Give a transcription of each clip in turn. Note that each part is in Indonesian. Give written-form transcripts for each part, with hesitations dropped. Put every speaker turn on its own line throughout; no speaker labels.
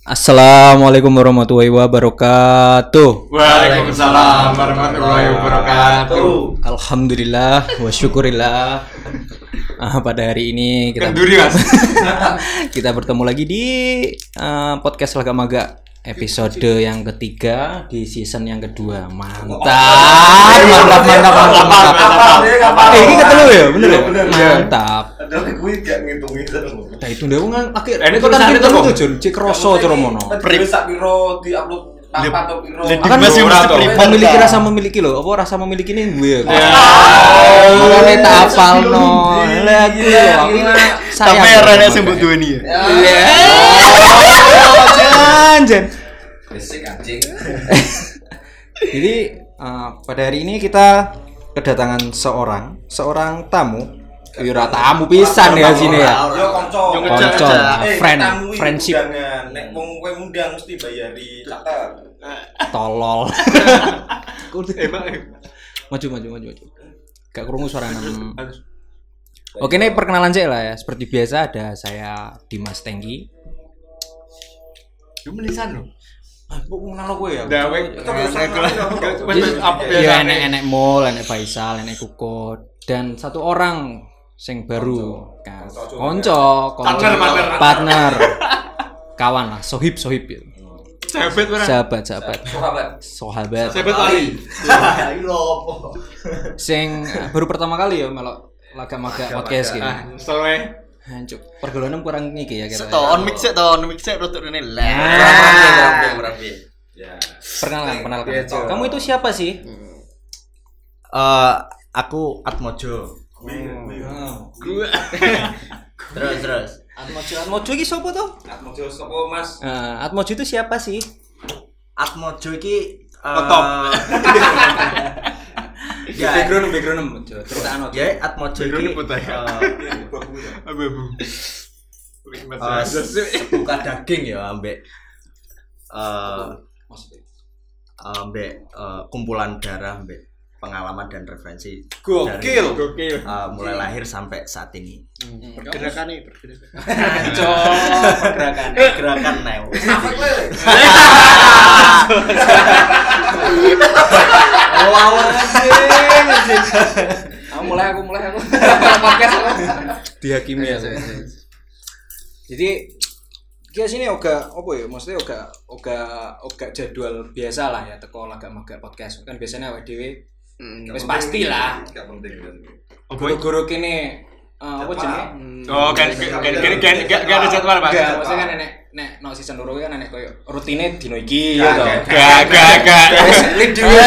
Assalamualaikum warahmatullahi wabarakatuh.
Waalaikumsalam warahmatullahi wabarakatuh.
Alhamdulillah wa syukurillah. Pada hari ini kita bertemu lagi di podcast Laga Maga episode yang ketiga di season yang kedua. Mantap. Ini ketemu ya, bener ya? Mantap.
Ada kuwi gak ngitung terus.
Nah itu ndek wong akhir. Ini kok kan ketemu tuh Jun, cek kroso cara mono.
Wis sak piro diupload tanpa atau piro.
Kan memiliki rasa memiliki loh. Apa rasa memiliki ini gue. Makane tak apalno. Lah aku sayang.
Tapi arane sing mbok duweni ya.
Jan.
Besik anjing.
Jadi pada hari ini kita kedatangan seorang tamu. Ora tamu pisan ya sini ya.
Yo kanca.
Friendship.
Nek wong kowe ngundang mesti bayari catet.
Tolol. Maju. Gak krungu suara nem. Oke, ini perkenalan saya lah ya. Seperti biasa ada saya Dimas Tenggi.
Lu menisan lho.
Kok kenal kowe ya? Ya enek Mul, enek Faisal, enek Kukut dan satu orang sing baru kan. Partner. Kawan lah, sohib ya. Sahabat. Sahabat
Ali.
Sing baru pertama kali ya melok Laga Maga podcast gitu.
Soalnya
Hancur. Pergaulan kurang iki ya kira.
on mix rotok rene
Rapi. Ya.
Perkenalan. Kamu itu siapa sih?
Aku Atmojo. Terus.
Atmojo iki sapa to?
Atmojo sapa Mas?
Atmojo itu siapa sih?
Atmojo iki
Top. Background cerita
ya Atmojo iki
Abu.
buka daging ya ambek kumpulan darah ambek pengalaman dan referensi
Gokil.
mulai lahir sampai saat ini.
Pergerakan.
Gerakan neo.
Aku mulai podcast dihakimi ya. Jadi kita sini oga apa ya? Maksudnya oga jadwal biasa lah ya teko Laga Maga podcast. Kan biasanya awake dhewe wis pastilah.
Gak penting.
Guru-guru kene apa jenenge?
Oh, kan ada jadwal, Pak.
Enggak, maksudnya kan nek no season 2 kan nek koyo rutine dino iki ya to.
Gak.
Wis lip dhewe.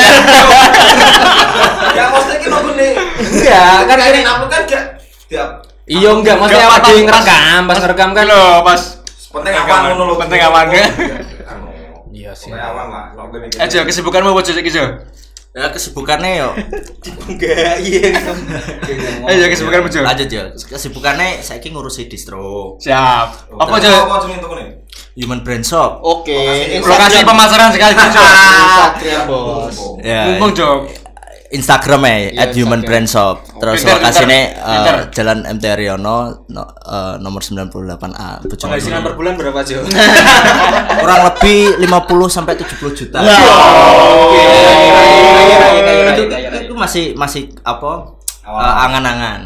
Ya maksudnya ki nongone.
Enggak, kan
ini upload kan gak tiap.
Iya enggak, maksudnya awak dhewe ngerekam, pas ngerekam kan
lho, pas
Penting awan ngono lho.
penting awan ke.
Iya sih.
Awan lah. Nongone iki.
Aja kesibukanmu apa iki, Jo? Ya kesibukannya yo.
Enggak, iya.
Ayo kesibukanmu, Jo.
Lanjut ya. Kesibukannya saiki ngurusi distro.
Siap. Apa, Jo?
Apa jenenge tokone?
Human Brand Shop.
Oke.
Lokasi pemasaran sekali, Jo.
Instagram, Bos.
Ya.
Mumpung, Jo.
Instagramnya
Instagram.
@humanbrandshop. Terus
Pinter,
lokasinya Jalan MT Haryono nomor 98A.
Penghasilan per bulan berapa, Jo?
Kurang lebih 50 sampai 70 juta.
Oke.
Itu masih apa? Angan-angan.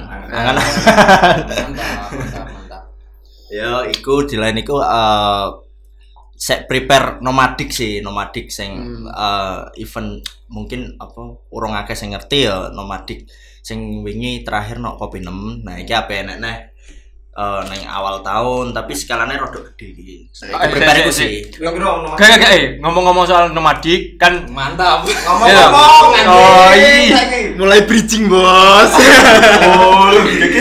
Mantap.
Ya, iku di lain iku saya prepare nomadik sing event mungkin apa urung akeh sing ngerti ya nomadik sing wingi terakhir nok kopi 6. Nah iki ape enek neng awal tahun tapi skalanya rada gede iki. Prepare iku sih.
Gak, ngomong-ngomong soal nomadik kan
Mantap.
Ngomong-ngomong.
Oh, mulai bridging, Bos.
Oh,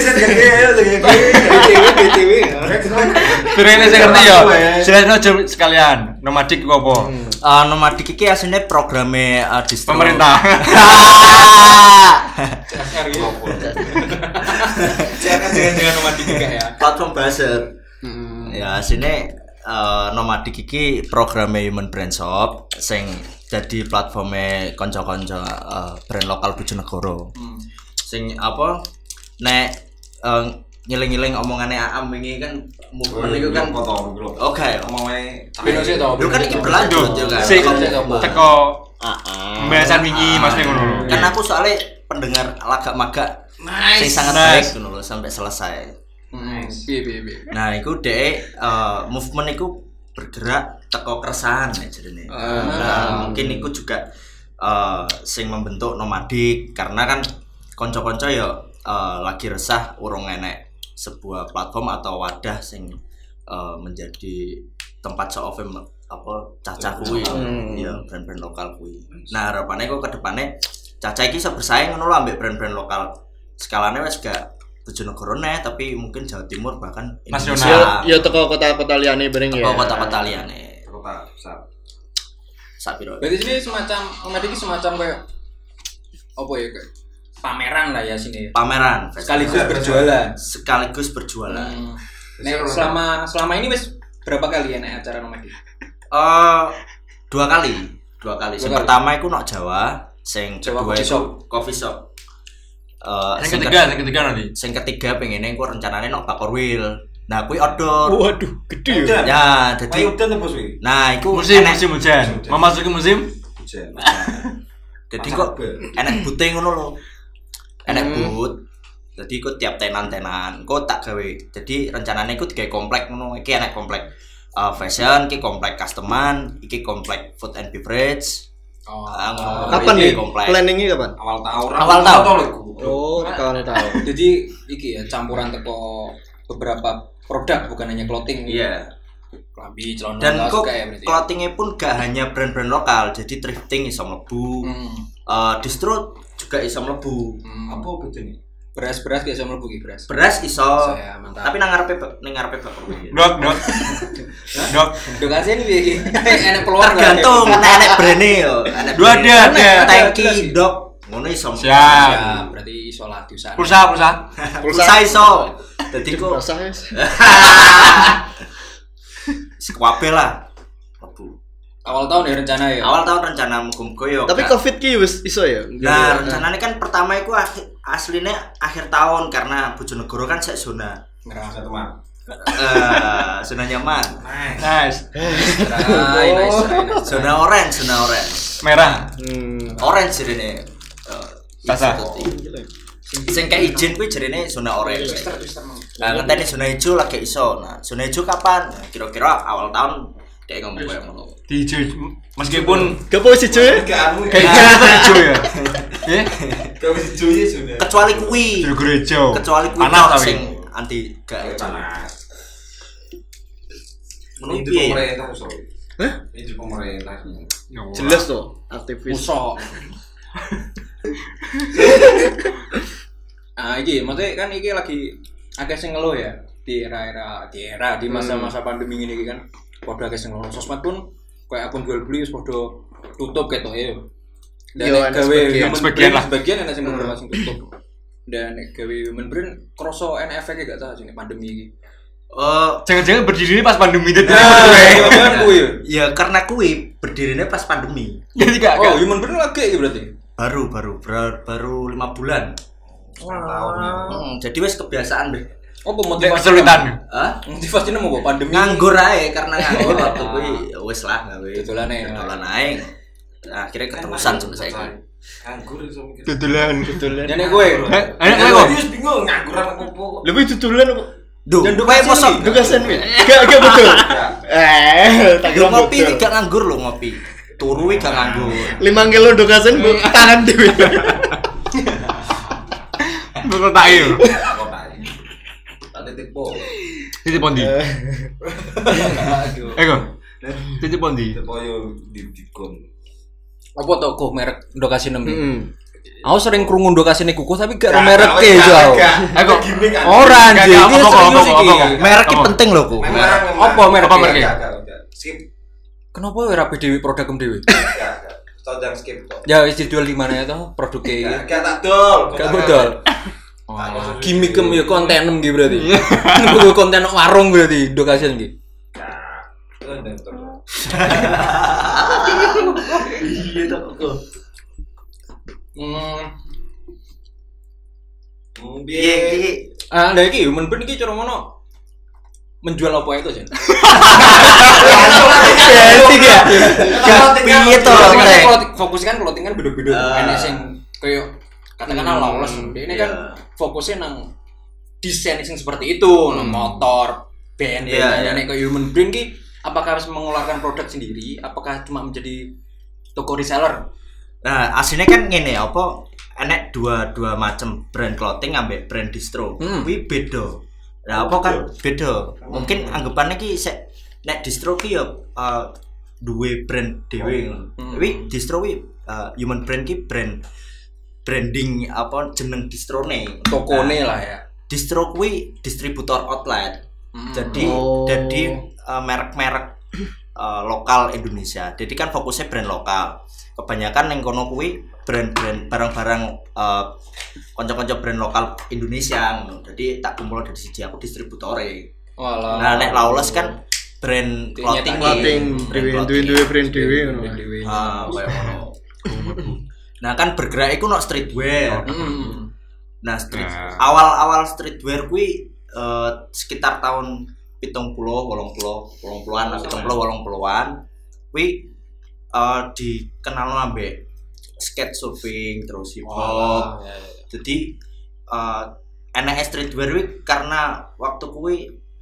BTW.
Pirene sing ngerti ya. Jelasno aja sekalian. Nomadik ku apa?
Nomadik iki asline programe distro
Pemerintah.
Jangan nomadik juga ya.
Platform buzzer. Ya asline nomadik iki programe Human Brand Shop sing dadi platforme kanca-kanca brand lokal Bojonegoro. Sing apa nek ngiling-ngiling omongane Aam wingi kan movement iku kan
potong bro.
oke
Omongane
Bino sih to.
Lho kan iki berlanjut yo kan.
Sik teko
Heeh.
pembahasan wingi Mas ngono.
Kan aku soalnya pendengar lagak maga sing sangat baik ngono lho sampai selesai.
Piye.
Nah, iku dhek movement iku bergerak teko keresahan jadinya. Nah, mungkin iku juga sing membentuk nomadik karena kan kanca-kanca ya lagi resah urung enek sebuah platform atau wadah sing menjadi tempat show of fame apa Caca kuwi ya brand-brand lokal kuwi. Nah, harapannya kok kedepannya Caca iki iso bersaing ngono lho ambek brand-brand lokal. Skalane wis gak Bojonegoro neh tapi mungkin Jawa Timur bahkan
Nasional.
Ya teko kota-kota liyane bareng ya.
teko kota-kota liyane.
kota besar.
Sapiro.
Berarti ini semacam komedi semacam kayak apa ya kayak pameran lah ya sini.
Pameran
Sekaligus berjualan. Nek selama ini wis berapa kali ya nek acara nomadi?
Dua kali. Sing pertama iku nok Jawa, sing
Jawa
kedua
coffee
iku coffee shop.
Sing ketiga nanti.
Sing ketiga pengene ku rencanane nok Bakorwil. Nah, kuwi outdoor.
Waduh, gede ya.
Ya, dadi
udan apa sih?
nah, iku
Musim hujan. Memasuki musim
Hujan.
Jadi kok enek bute ngono lho. Enek but. Jadi iku tiap tenan-tenan, kok tak gawe. Jadi rencanane iku digawe komplek ngono. Iki enek komplek fashion, iki komplek customan, iki komplek food and beverage.
Kapan nih? Planningnya kapan?
Awal tahun.
Oh, kawan tahu.
Jadi iki ya campuran teko beberapa produk bukan hanya clothing.
Iya.
Klambi, celana
Dan
kaos
kok
kayak berarti.
clothingnya pun gak hanya brand-brand lokal, jadi thrifting iso mlebu. Distro juga iso mlebu.
Apa bedanya?
Beras kayak sama mlebu iki beras.
Beras iso.
Ya, mantap.
Tapi nang ngarepe Bakorwil.
dok.
Dok aja nih iki. Enak peluang
Tergantung enek brand-e yo. Enek
Dua
brand.
ada.
Tanki dok. Ngono iso.
Siap.
Ya, berarti isolat di sana.
Pulsa.
Iso. Dadi kok
Rasanya
sekwabe lah.
Awal tahun ya rencana ya.
Awal tahun rencana muga-muga yo.
tapi Covid ki wis iso ya.
Nah, rencananya kan pertama iku aslinya akhir tahun karena Bojonegoro kan sek zona
Merah.
Teman.
zona nyaman.
Nice.
Nice.
Zona orange.
Merah.
Orange jarene.
Sasa.
Sing kayak izin kuwi jarene zona orange. Nah, ngenteni zona hijau lagi iso. Nah, zona hijau kapan? Nah, kira-kira awal tahun kayak ngomong kayak ngono.
Di hijau meskipun
Gak posisi cuy.
kayak hijau ya. Eh?
Kau mesti cuy sudah.
Kecuali kuwi.
Jeruk hijau.
Kecuali kuwi
Panas tapi.
sing anti gak
Panas.
menurut
Itu
piye?
pemerintah soal. Itu pemerintah.
Jelas tuh aktivis.
Musok. Iki maksudnya kan iki lagi akeh sing ngeluh ya di era di masa-masa pandemi ini kan. Padha akeh sing ngeluh sosmed pun kayak akun jual beli wis padha tutup ketok ya. Dan
Yo,
nek
ada
gawe
sebagian lah.
sebagian ana sing beberapa sing tutup. Dan nek gawe human brain kroso enek efeke gak tahu sini pandemi iki.
Jangan-jangan berdiri pas pandemi itu.
Ya karena kuwi berdirinya pas pandemi.
Jadi gak.
Oh, human brain lagi iki berarti.
Baru 5 bulan. Jadi wes kebiasaan deh.
Apa motivasi?
Kesulitan.
Hah?
Motivasinya mau bawa pandemi.
Nganggur ae karena nganggur waktu kuwi wes lah gawe.
Tutulan ae.
Tutulan ae. Nah, akhirnya keterusan sampai saiki.
Nganggur iso mikir.
Tutulan.
Ya nek kowe.
Ayo kok.
Wis bingung nganggur apa opo.
Lebih tutulan apa?
Duh,
Dan
kowe mosok
Dugasan mi. Gak betul. Tak
Yo
kira
ngopi
betul.
iki gak nganggur lho ngopi. Turu iki gak nganggur.
5 kilo dugasan bu tangan dewi.
Betul tak yo.
Kok tak. Tak titip po.
Titip pondi.
Aduh.
Eko. Titip pondi.
Titip po yo di dikon.
Apa toko merek Dokasi 6?
Heeh.
Aku sering krungu Dokasine kuku tapi gak ada merek e yo.
Eko.
Ora anjing.
Gak,
Iki
apa,
serius
apa,
iki.
apa.
Merek iki penting lho, Ku.
Apa merek?
Apa merek?
Skip.
Kenapa ora dhewe produkem dhewe?
Jangan skip kok.
Ya wis dijual di mana ya toh produknya iki?
Gak tak dol.
Gak bodol. Gimikem ya kontenem iki berarti. Kudu konten warung berarti Dokasian iki.
Iya to, Ku. Piye iki
Lah iki human brand iki cara ngono menjual apa itu sih?
Piye to?
Fokus kan clothing kan beda-beda. Enek sing koyo katakanlah lawless. Ini kan fokusnya nang desain sing seperti itu, nang motor, band, nek koyo human brand ki apakah harus mengeluarkan produk sendiri? Apakah cuma menjadi toko reseller?
Nah, aslinya kan ngene apa enek dua macam brand clothing ambek brand distro. Kuwi beda. Lah apa kan beda. Mungkin anggapannya ki sek nek distro ki ya duwe brand dhewe ngono. Kuwi distro kuwi human brand ki branding apa jeneng distrone.
Tokone lah ya.
Distro kuwi distributor outlet. Jadi merek-merek lokal Indonesia. Jadi kan fokusnya brand lokal. Kebanyakan yang kono kuwi brand-brand barang-barang kanca-kanca brand lokal Indonesia ngono. Jadi tak kumpul dari siji aku distributore.
Walah.
Nah nek Lawless kan brand clothing
duwe brand dhewe ngono.
Kayak ngono. Nah kan bergerak iku nok streetwear. Nah awal streetwear kuwi sekitar tahun 70-80-an kuwi dikenal ambek skate surfing terus hip hop. Jadi enek streetwear kuwi karena waktu kuwi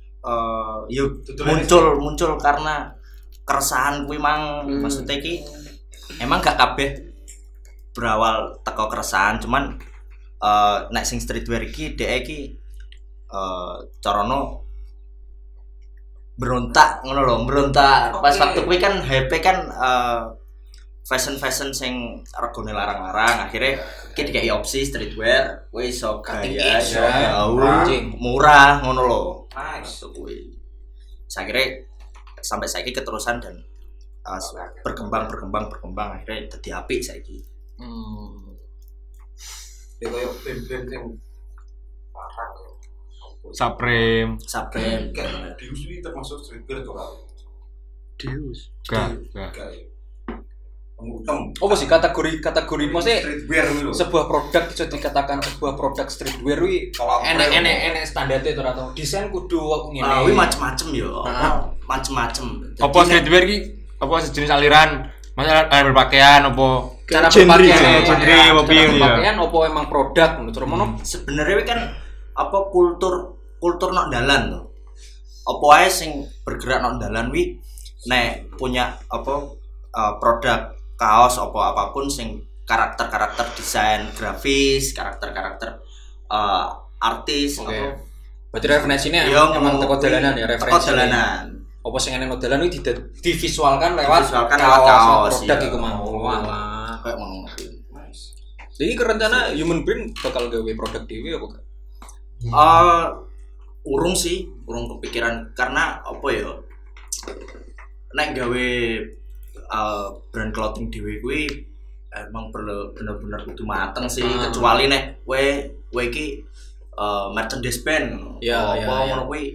muncul karena keresahan kuwi mang maksudnya iki emang gak kabeh berawal teko keresahan cuman nek sing streetwear iki dhek iki carane berontak ngono lho, berontak. Pas waktu kuwi kan HP kan fashion sing regane larang-larang, akhirnya iki dikei opsi streetwear, kuwi iso gaya, iso murah ngono lho. Nice kuwi. Sakire sampai saiki keterusan dan berkembang akhirnya dadi apik saiki.
Ya koyo band-band sing parang ya.
Supreme.
Kan Dius ini termasuk streetwear to ora?
Dius.
Enggak.
Pengutem.
Oh sih kategori maksudnya
streetwear lho.
sebuah produk bisa dikatakan sebuah produk streetwear wi enek standarnya itu atau desain kudu ngene.
Kuwi macem-macem yo. Macem-macem.
Apa streetwear ki? Apa sejenis aliran? Masalah berpakaian apa
Cara berpakaian
berpakaian
apa emang produk menurut Romono?
Sebenarnya kan apa kultur nok dalan to. Apa wae sing bergerak nok dalan wi nek punya apa produk kaos apa apapun sing karakter desain grafis, karakter artis
apa. Berarti referensinya emang teko dalanan ya referensi.
Teko dalanan.
Apa sing enek nok dalan iki divisualkan lewat
kaos
produk iku mau. Walah,
kayak ngono.
Jadi kerencana human brand bakal gawe produk dhewe apa gak?
Urung kepikiran karena apa ya? Nek gawe brand clothing dhewe kuwi emang perlu bener-bener kudu mateng sih, kecuali nek we iki merchandise band ngono kuwi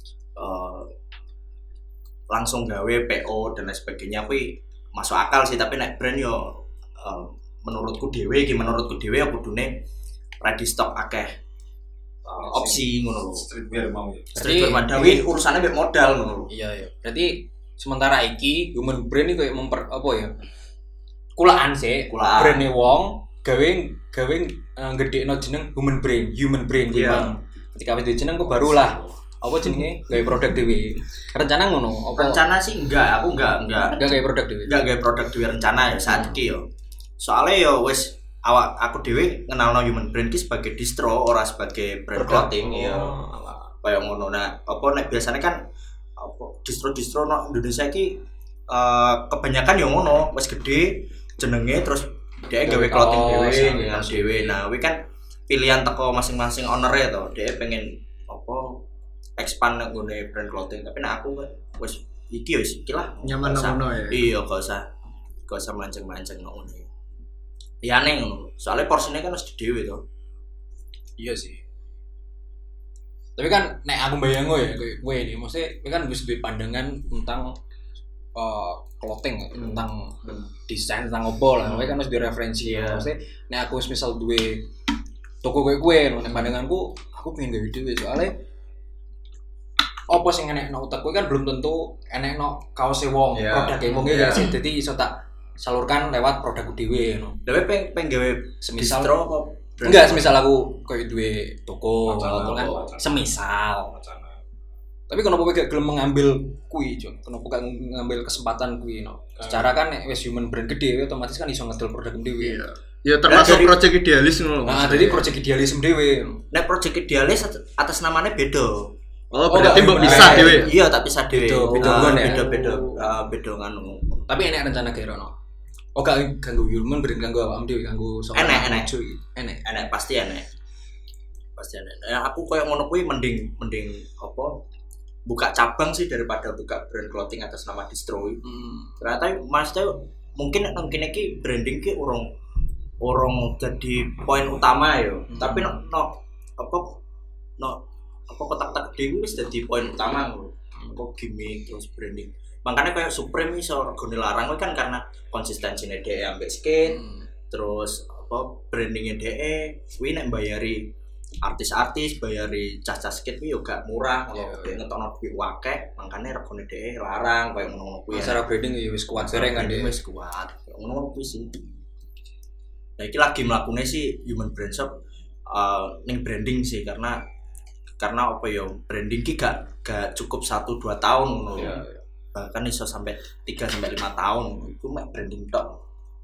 langsung gawe PO dan lain sebagainya kuwi masuk akal sih, tapi nek brand yo menurutku dhewe ya kudune ready stock akeh opsi ngono lho.
Streetwear mau ya.
Streetwear madawi urusane mek modal ngono lho.
Iya. Berarti sementara iki human brand iki koyo apa ya? Kulaan sih, brand-e wong gawe gedhekno jeneng human brand memang. Ketika wis jeneng kok barulah apa jenenge gawe produk dhewe. Rencana ngono? Apa?
Rencana sih enggak, aku enggak
gawe produk dhewe.
Enggak gawe produk dhewe rencana ya saat iki yo. Soale yo wis aku dhewe ngenalno human brand ki sebagai distro ora sebagai brand clothing ya. Kayak ngono. Nah, apa nek biasanya kan apa distro no Indonesia iki kebanyakan yo ngono, wis gede jenenge terus dia gawe clothing dhewe. Nah, kuwi kan pilihan teko masing-masing owner-e to. Dia pengen apa expand nggone brand clothing, tapi nek aku wis iki yo iki lah.
Nyaman ngono ya.
Iya, gak usah mancing-mancing ngono. Ya aneh ngono. Soalnya porsinya kan harus dhewe to.
Iya sih. Tapi kan nek aku bayangno ya kowe ini maksudnya kan wis duwe pandangan tentang clothing tentang desain tentang opo lah. Kowe kan harus duwe referensi ya. Maksudnya nek aku misal duwe toko kowe nek pandanganku aku pengen gawe dhewe soalnya apa sing enek nang utek kowe kan belum tentu enek no kaose wong produk wong iki sih dadi iso tak salurkan lewat produkku dhewe ngono.
Dewe pengen gawe
Semisal
distro apa?
enggak semisal aku koyo duwe toko atau kan semisal. Tapi kenapa kowe gak gelem mengambil kuwi, Jon? Kenapa gak ngambil kesempatan kuwi no? Secara kan nek wis human brand gede otomatis kan iso ngedol produk dhewe.
Ya termasuk project idealis ngono.
Nah, jadi project idealisme dhewe.
Nek project idealis atas namanya beda.
Oh, berarti mbok bisa dhewe.
Iya, tak bisa dhewe. Beda nganu.
Tapi enek rencana gawe rono. Oh, gak ganggu human brand ganggu awakmu dhewe, ganggu sapa?
Enek pasti enek. Nah, aku koyo ngono kuwi mending apa? Buka cabang sih daripada buka brand clothing atas nama distro. Ternyata Mas tuh mungkin iki branding ki urung jadi poin utama ya. Tapi kotak-kotak gede wis dadi poin utama lho. Apa gimmick terus branding. Makanya kayak Supreme iso regane larang kan karena konsistensine dhek ambek skate. Terus apa brandingnya dhek kuwi nek bayari artis-artis bayari cah-cah skate kuwi yo gak murah kalau dhek ngetokno duit akeh, makane regane dhek larang koyo ngono kuwi.
Secara branding ya wis kuat bareng kan dhek.
Wis kuat. Ngono kuwi sih. Nah, iki lagi mlakune sih Human Brand Shop ning branding sih karena apa ya branding ki gak cukup 1-2 tahun ngono. Bahkan iso sampai 3-5 tahun itu mek branding tok.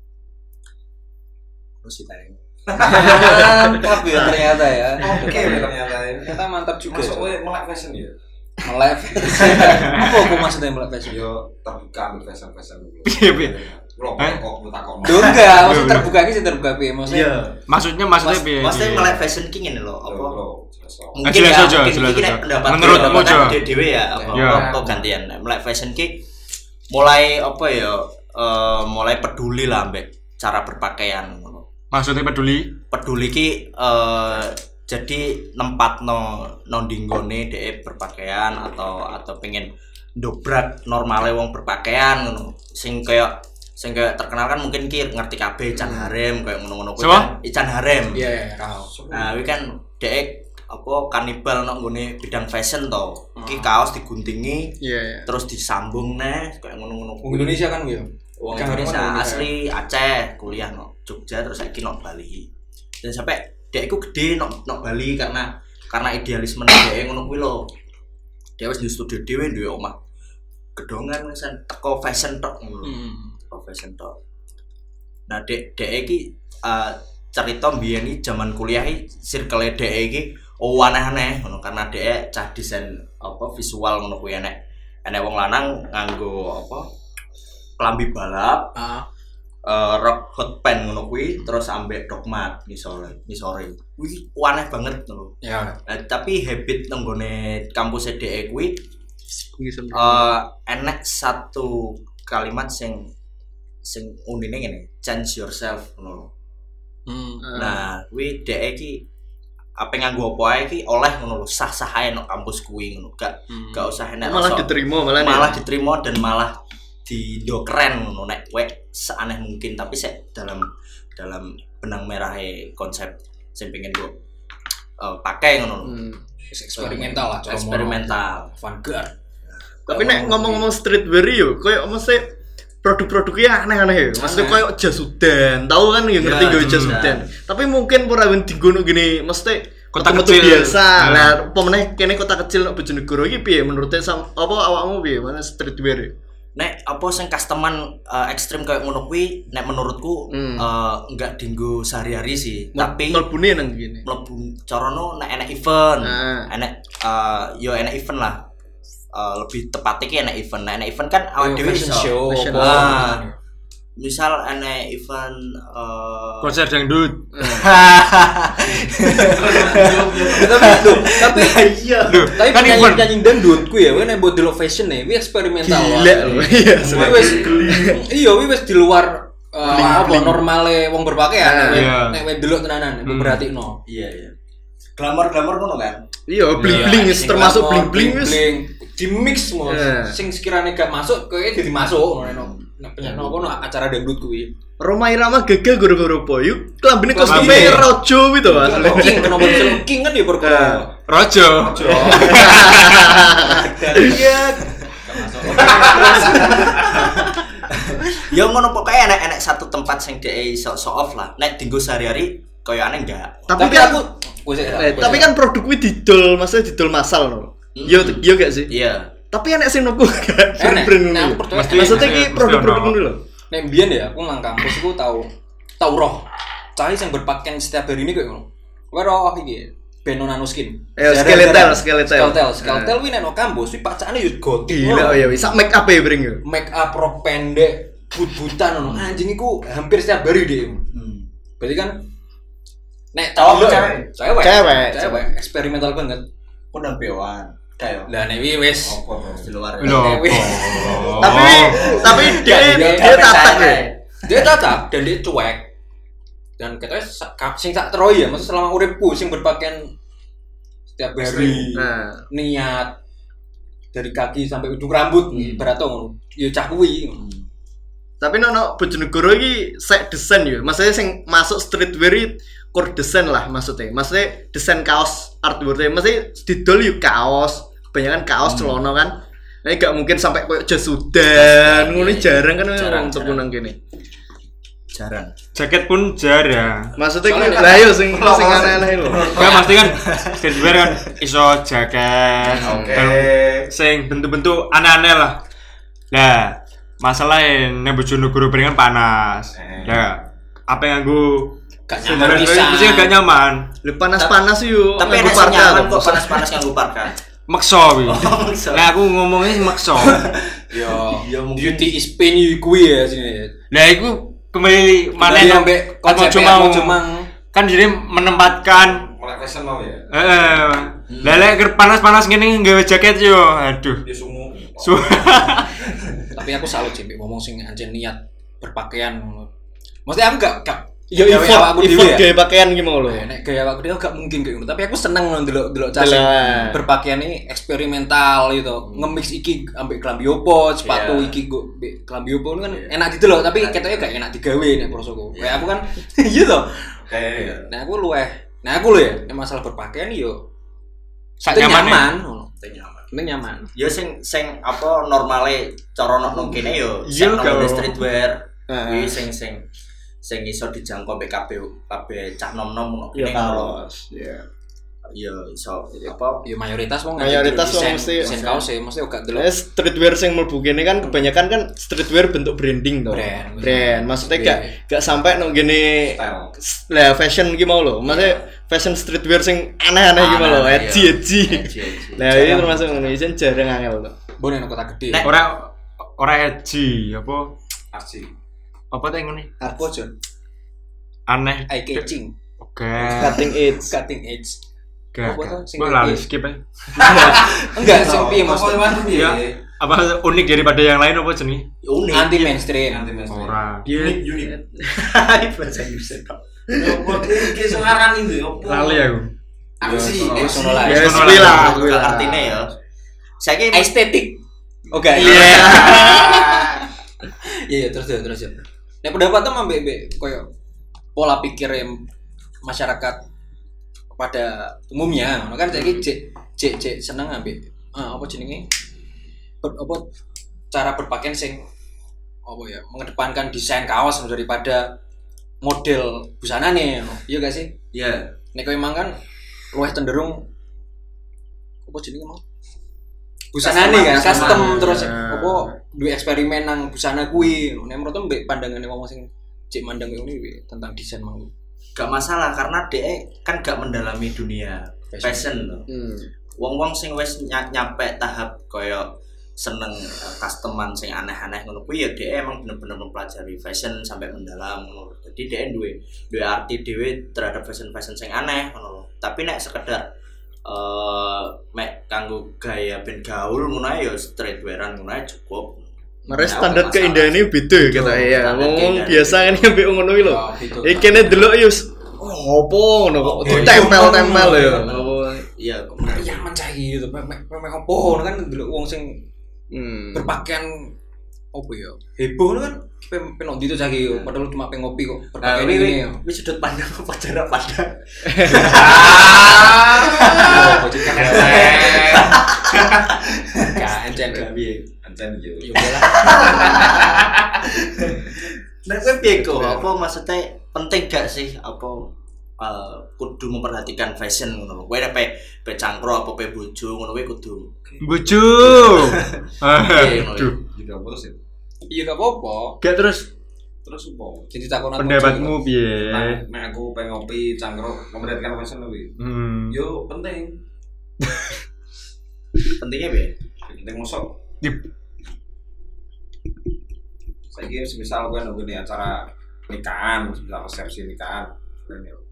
Terus ditanya.
Mantap ya ternyata ya.
Oke ternyata ini.
Ternyata mantap juga.
Masuk melek fashion ya.
Melek. Apa maksudnya melek fashion?
Yo terbuka ambil fashion dulu.
Piye?
Kok takon.
Duh enggak, maksud terbuka iki sing terbuka piye maksudnya?
Maksudnya piye?
Maksudnya melek fashion king ini loh. Apa? Mungkin
jelas
ya,
aja.
pendapat
Menurutmu aja.
Dewe ya, apa gantian. Melek fashion ki mulai apa ya? Mulai peduli lah ambek cara berpakaian.
Maksudnya peduli
ki jadi nempatno dinggone dhek berpakaian atau pengen dobrak normale wong berpakaian ngono. Sing kayak terkenal kan mungkin ki ngerti kabeh Ican Harem kayak ngono-ngono kuwi kan Ican Harem.
Iya, kaos.
Nah, kuwi kan dhek apa kanibal nang nggone bidang fashion to. Iki kaos diguntingi, terus disambung neh kayak ngono-ngono
Wong Indonesia kan kuwi ya.
Wong Indonesia asli Aceh, kuliah no Jogja terus saiki no Bali. Dan sampai dhek iku gede no Bali karena idealisme dhek ngono kuwi lho. Dhek wis di studio dhewe duwe omah gedongan wis teko fashion tok ngono. Fashion tok. Nah, dhek iki cerita mbiyen iki jaman kuliah iki circle dhek iki aneh-aneh ngono karena dhek cah desain apa visual ngono kuwi enek wong lanang nganggo apa klambi balap, rock hot pants ngono kuwi terus ambek dogmat ngisore. Kuwi aneh banget ngono. Ya. Tapi habit nang gone kampus dhek kuwi enek satu kalimat sing unine ngene, change yourself ngono. Nah, kuwi dhek iki apa nganggo apa ae iki oleh ngono lho, sah-sah ae nang kampus kuwi ngono. Gak usah enek
malah diterima
dan malah dido keren ngono nek kowe seaneh mungkin tapi sik dalam benang merahe konsep sing pengen gua pakai ngono.
Eksperimental lah,
eksperimental,
vanguard.
Tapi nek ngomong-ngomong streetwear yo koyo mesti produk-produknya aneh-aneh ya. Maksudnya koyo jas hujan, tahu kan yang ngerti gawe jas hujan. Tapi mungkin ora ben digono gini mesti kota kecil biasa. Lah pemeneh kene kota kecil nek Bojonegoro iki piye menurutnya apa awakmu piye mana streetwear?
Nek apa sing customan ekstrim kayak ngono kuwi nek menurutku enggak dinggo sehari-hari sih, tapi
mlebune nang kene.
Mlebu carane nek enek event. Enek event lah. Lebih tepatnya ki enek event. Nek enek event kan awake dhewe iso. Misal enek event
konser dangdut.
Tapi iya. Tapi kan nyanyi dangdut ku ya, nek mbok delok fashion e, kuwi eksperimental. Iya, wis di luar apa normale wong berpakaian. Nek wis delok tenanan, mbok perhatikno.
Iya. Glamour ngono kan.
Iya, bling-bling termasuk bling-bling wis
di mix semua. Sing sekiranya gak masuk kowe dadi masuk ngono. Nek penyakno acara dangdut kuwi.
Roma Irama gagal gara-gara apa? Yuk klambine
Klambi.
kostumnya rojo gitu asli.
King nomor King kan ya perkara.
Rojo.
Iya.
Ya ngono pokoke enek satu tempat sing dhek iso show off lah. Nek dienggo sehari-hari koyo aneh enggak.
Tapi kan produk kuwi didol, maksudnya didol massal no. Yo gak sih?
Iya.
Tapi enek sing nopo gak brand
Nah,
ngono.
aku percaya.
Maksudnya ki produk-produk ngono lho.
Nek mbiyen ya aku nang kampus iku tau roh. Cah sing berpakaian setiap hari ini kayak ngono. Kowe roh iki Benonan Skin. Skeletal kuwi nek nang kampus kuwi pacane yo gotik.
Gila ya wis sak make up ya bring yo.
Make up rok pendek, but-butan ngono. Anjing iku hampir setiap hari deh. Berarti kan nek
Cowok,
cewek eksperimental banget.
Undang bewan. Kayak.
Lah nek wis
Di luar.
Lho.
Tapi dia tatak ya.
Dia tatak dan dia cuek. Dan katanya sing tak teroi ya, maksud selama uripku sing berpakaian setiap hari.
Nah,
Niat dari kaki sampai ujung rambut ibarat ngono. Ya cah kuwi.
tapi nono Bojonegoro iki sek desain yo. Maksudnya sing masuk streetwear iki core desain lah maksudnya. Maksudnya desain kaos artwork-e. Maksudnya didol yo kaos, kebanyakan kaos celana kan. Nah, gak mungkin sampai koyo jas udan, ngono jarang kan untuk nang kene.
Jarang.
Jaket pun jarang.
Maksudnya ki lah yo sing aneh-aneh lho.
Enggak pasti kan streetwear kan iso jaket. Sing bentuk-bentuk aneh-aneh lah. Nah, masalahnya nek Bojonegoro beringan panas. Nah, apa yang nganggo
Gak nyaman pisan.
Mesti gak nyaman.
Lho panas-panas yo.
Tapi enek sing nyaman kok panas-panas nganggo parka.
Makso kuwi. Nah, aku ngomongnya makso.
Yo, beauty is pain you kuwi ya sini.
Nah, iku kembali mana
sampai konsep cuma
kan jadi menempatkan
Mulai fashion mau ya.
lelek panas-panas gini nggawe jaket yo. Aduh.
Dia sungu.
Tapi aku salut sih ngomong sing anjen niat berpakaian. Maksudnya aku gak
Yo effort gaya pakaian ki mau lho.
Nek gaya aku dia gak mungkin kayak gitu. Tapi aku seneng ndelok cah berpakaian ini eksperimental gitu. Nge-mix iki ambek klambi opo, sepatu iki go klambi opo kan enak didelok tapi ketoknya gak enak digawe nek prosoku. Kayak aku kan gitu.
Kayak
Nah aku lho ya, masalah berpakaian yo
sak nyaman.
Nyaman.
Ya sing apa normale cara nang kene yo
Iya,
sing
kau.
nang streetwear. Kuwi sing iso dijangkau kabeh cah nom-nom ngono.
Yo kaos. Ya.
Ya iso apa
Ya mayoritas wong
Mayoritas wong mesti
desain kaos ya, mesti gak delok.
Streetwear sing mlebu kene kan kebanyakan kan streetwear bentuk branding to. Brand. Maksudnya gak sampai nang gini lah fashion ki mau lho. Maksudnya fashion streetwear sing aneh-aneh ki mau lho, edgy. Nah, ini termasuk ngono isen jarang angel to.
Bone nang kota gede.
Ora edgy apa
arsi.
apa teh ngene
Apa Jon?
aneh
Eye catching.
oke
Cutting edge.
gak
Apa tuh, sing
gue
kayak
lali
gitu?
skip ya
Enggak, sing piye maksudnya?
ya apa unik daripada yang lain apa jenis
unik.
Anti mainstream.
ora
Unik.
Bahasa Inggris kok.
Kok iki sekarang ini opo?
lali aku
Arsi.
Sono lah.
Ya
Sono
kuwi
lah.
lah.
Artine ya. Saiki
Estetik. Oke. Iya, terus. Nek pendapatnya ambek koyo pola pikir masyarakat pada umumnya, kan saiki cek seneng ambek apa jenenge? Apa cara berpakaian sing apa ya, mengedepankan desain kaos daripada model busanane. Iya gak sih?
ya
Nek kowe emang kan luwih cenderung apa jenenge mau? Busanane kan custom terus apa duwe eksperimen nang busana kuwi. Nek menurutku mbek pandangane wong sing cek mandang ngene tentang desain mang.
gak masalah karena DE kan gak mendalami dunia fashion loh. Wong-wong sing wis nyampe tahap koyo seneng customan sing aneh-aneh ngono kuwi ya DE emang bener-bener mempelajari fashion sampai mendalam ngono. Jadi DE duwe arti dhewe terhadap fashion sing aneh ngono. Tapi nek sekedar mek kanggo gaya ben gaul ngono ae ya streetwearan ngono ae cukup.
Mare standar keindahannya beda ya kita ya. Ngomong biasa kan ambek ngono iki lho.
Gitu.
Iki kene delok yo opo ngono kok ditempel-tempel ya.
Iya, kok
Nyaman cah gitu. Mek opo kan delok wong sing berpakaian Apa ya? Heboh kan pengen ndi to cagi padahal cuma pengen ngopi kok.
Nah,
Perkara ini ya.
wis sudut pandang apa jarak pandang.
Bocil kan. Ya, encen piye?
Ancen yo.
Yo lah.
Nah, kowe piye kok? Apa maksudnya penting gak sih apa kudu memperhatikan fashion ngono lho. Kowe nek pe cangkro apa pe bojo ngono kowe kudu.
Bojo. Aduh.
Juga terus ya.
Iya gak apa-apa.
Gak terus
Apa?
Jadi takon
Pendapatmu piye?
Nek aku pengen ngopi cangkruk memperhatikan fashion lebih. Yo penting.
Pentingnya piye?
Penting mosok.
Dip.
Saiki misal gue nunggu nih acara nikahan, misal resepsi nikahan, keren yo.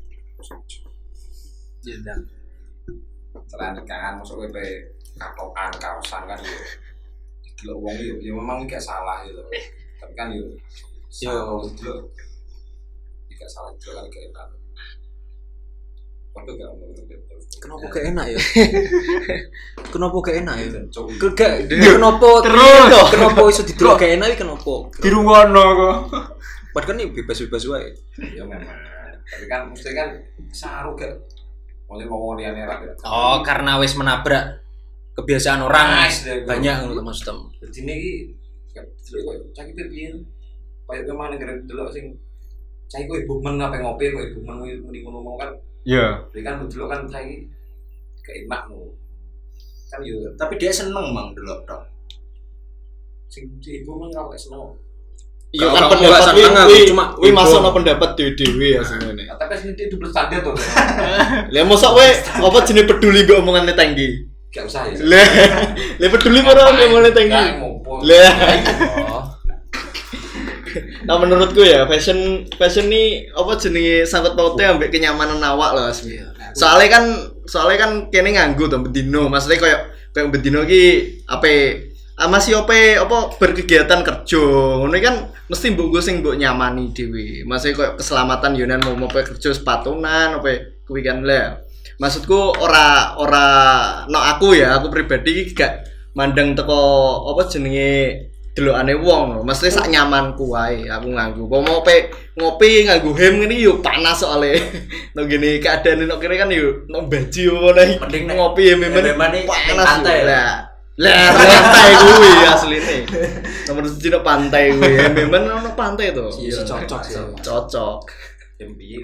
Jendan.
Acara nikahan mosok gue pe katokan kaosan kan yo. Delok wong yo, ya memang gak salah gitu. Tapi kan yo delok gak salah juga kan gak enak. Waktu gak ngomong gitu.
Kenapa gak enak ya? Kenapa gak enak ya?
Coba.
Kenapa
Terus.
kenapa iso didelok gak enak iki kenapa?
Dirungono kok.
Padahal kan ini bebas-bebas wae.
Ya memang. Tapi kan mesti kan saru gak. Mulai ngomong liyane ra.
Oh, karena wis menabrak kebiasaan orang
Nice, deh,
banyak ngono Mas Tem.
Jadi ini delok kok caki piye. Kayak kemana negara delok sing cai kowe ibu men apa ngopi kowe ibu men muni ngomong kan.
Ya.
Jadi kan delok kan cai kayak enak no. Kan yo
Tapi dia seneng mang delok tok.
sing ibu men ora seneng.
iya
Kalau
kan
kamu
pendapat
nggak seneng, aku cuma
wi masuk
heboh.
no pendapat dhewe ya sebenarnya.
Tapi sing itu double standar tuh.
Lah mosok kowe apa jenenge peduli mbek omongane Tenggi?
Gak usah ya.
Lah peduli ora mbek omongane Tenggi.
Gak ngopo.
Lah
Oh.
nah menurutku ya fashion nih apa jenenge sangkut pautnya ambek kenyamanan awak loh asli. Soalnya kan kene nganggo to bendino, maksudnya kayak bendino ki masih apa berkegiatan kerja. Ngono kan mesti mbok sing mbok nyamani dhewe. Maksudnya kayak keselamatan yonan mau kerja sepatunan apa kuwi kan lah. Maksudku ora no aku pribadi ki gak mandang teko apa jenenge delokane wong lho, mesti sak nyamanku wae aku nganggo. Pomo ngopi nganggo hem ngene yo panas soalé. Nang ngene keadaan nang kene kan yo nang baju ngono
Mending nek
ngopi hem-hemen
hem-hemane ning
panas
pantai.
Lah pantai kuwi asline. Nomor 1 nang pantai kuwi, hem-hemen nang pantai to.
Iya, cocok sih.
Cocok.
Piye.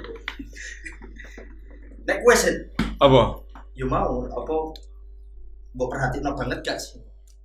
Nek kowe sih
Apa?
yo mau apa mbok perhatiin banget gak sih?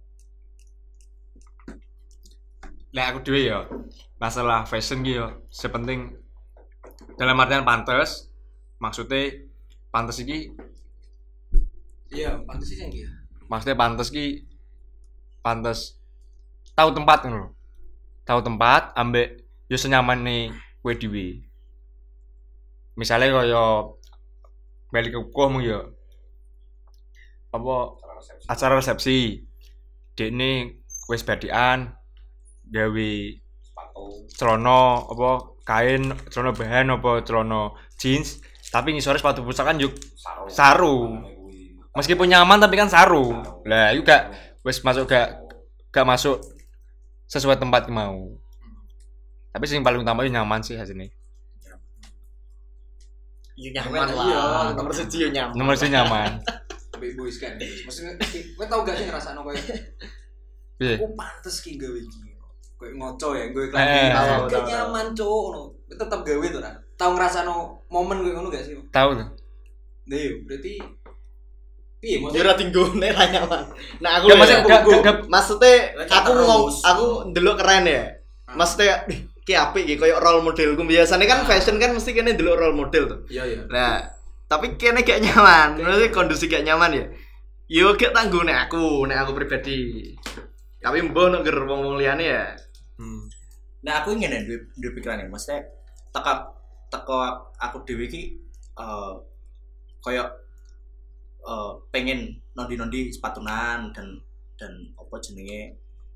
Lah aku dhewe ya. Masalah fashion ki yo sepenting dalam artian pantes. Maksudnya pantes iki
Iya, pantes sih iki.
maksudnya pantes ki pantes tahu tempat ngono lho. Tahu tempat ambek yo senyamane kowe dhewe. Misale kaya balik ke komu yo apa acara resepsi dekne wis badikan gawe celana apa kain celana bahan apa celana jeans tapi ngisore sepatu pusaka kan yuk saru meskipun nyaman tapi kan saru lah itu gak wis masuk gak masuk sesuai tempat mau tapi yang paling utama itu nyaman sih hasilnya
Yo nyaman lah. Nomor 1 yo nyaman.
nomor sih nyaman
Tapi boys kan. Maksudnya kowe tau gak sih ngrasakno koyo
piye
aku pantes ki gawe iki. Koyo ngoco ya, gue
Eh,
klambi.
tahu.
Nyaman cuk ngono. Tetep gawe to ra. Tau ngrasakno momen koyo ngono gak sih?
tahu tuh
Nah, yo berarti piye
Yo
maksudnya?
ora tinggone ra nyaman. Nah aku
Gak,
lho
maksudnya
maksudnya aku
Terus.
aku ndelok keren ya. Maksudnya ki apik iki koyo role modelku. Biasanya kan fashion kan mesti kene ndelok role model tuh.
Iya.
Nah, tapi kene gak nyaman. Maksudnya kondisi gak nyaman ya. Yo gak tanggung nek aku pribadi. Tapi mbok nek ger wong-wong liyane ya.
Nah aku ingin duwe pikiran ya, maksudnya teko aku dhewe iki koyo pengen nondi sepatunan dan apa jenenge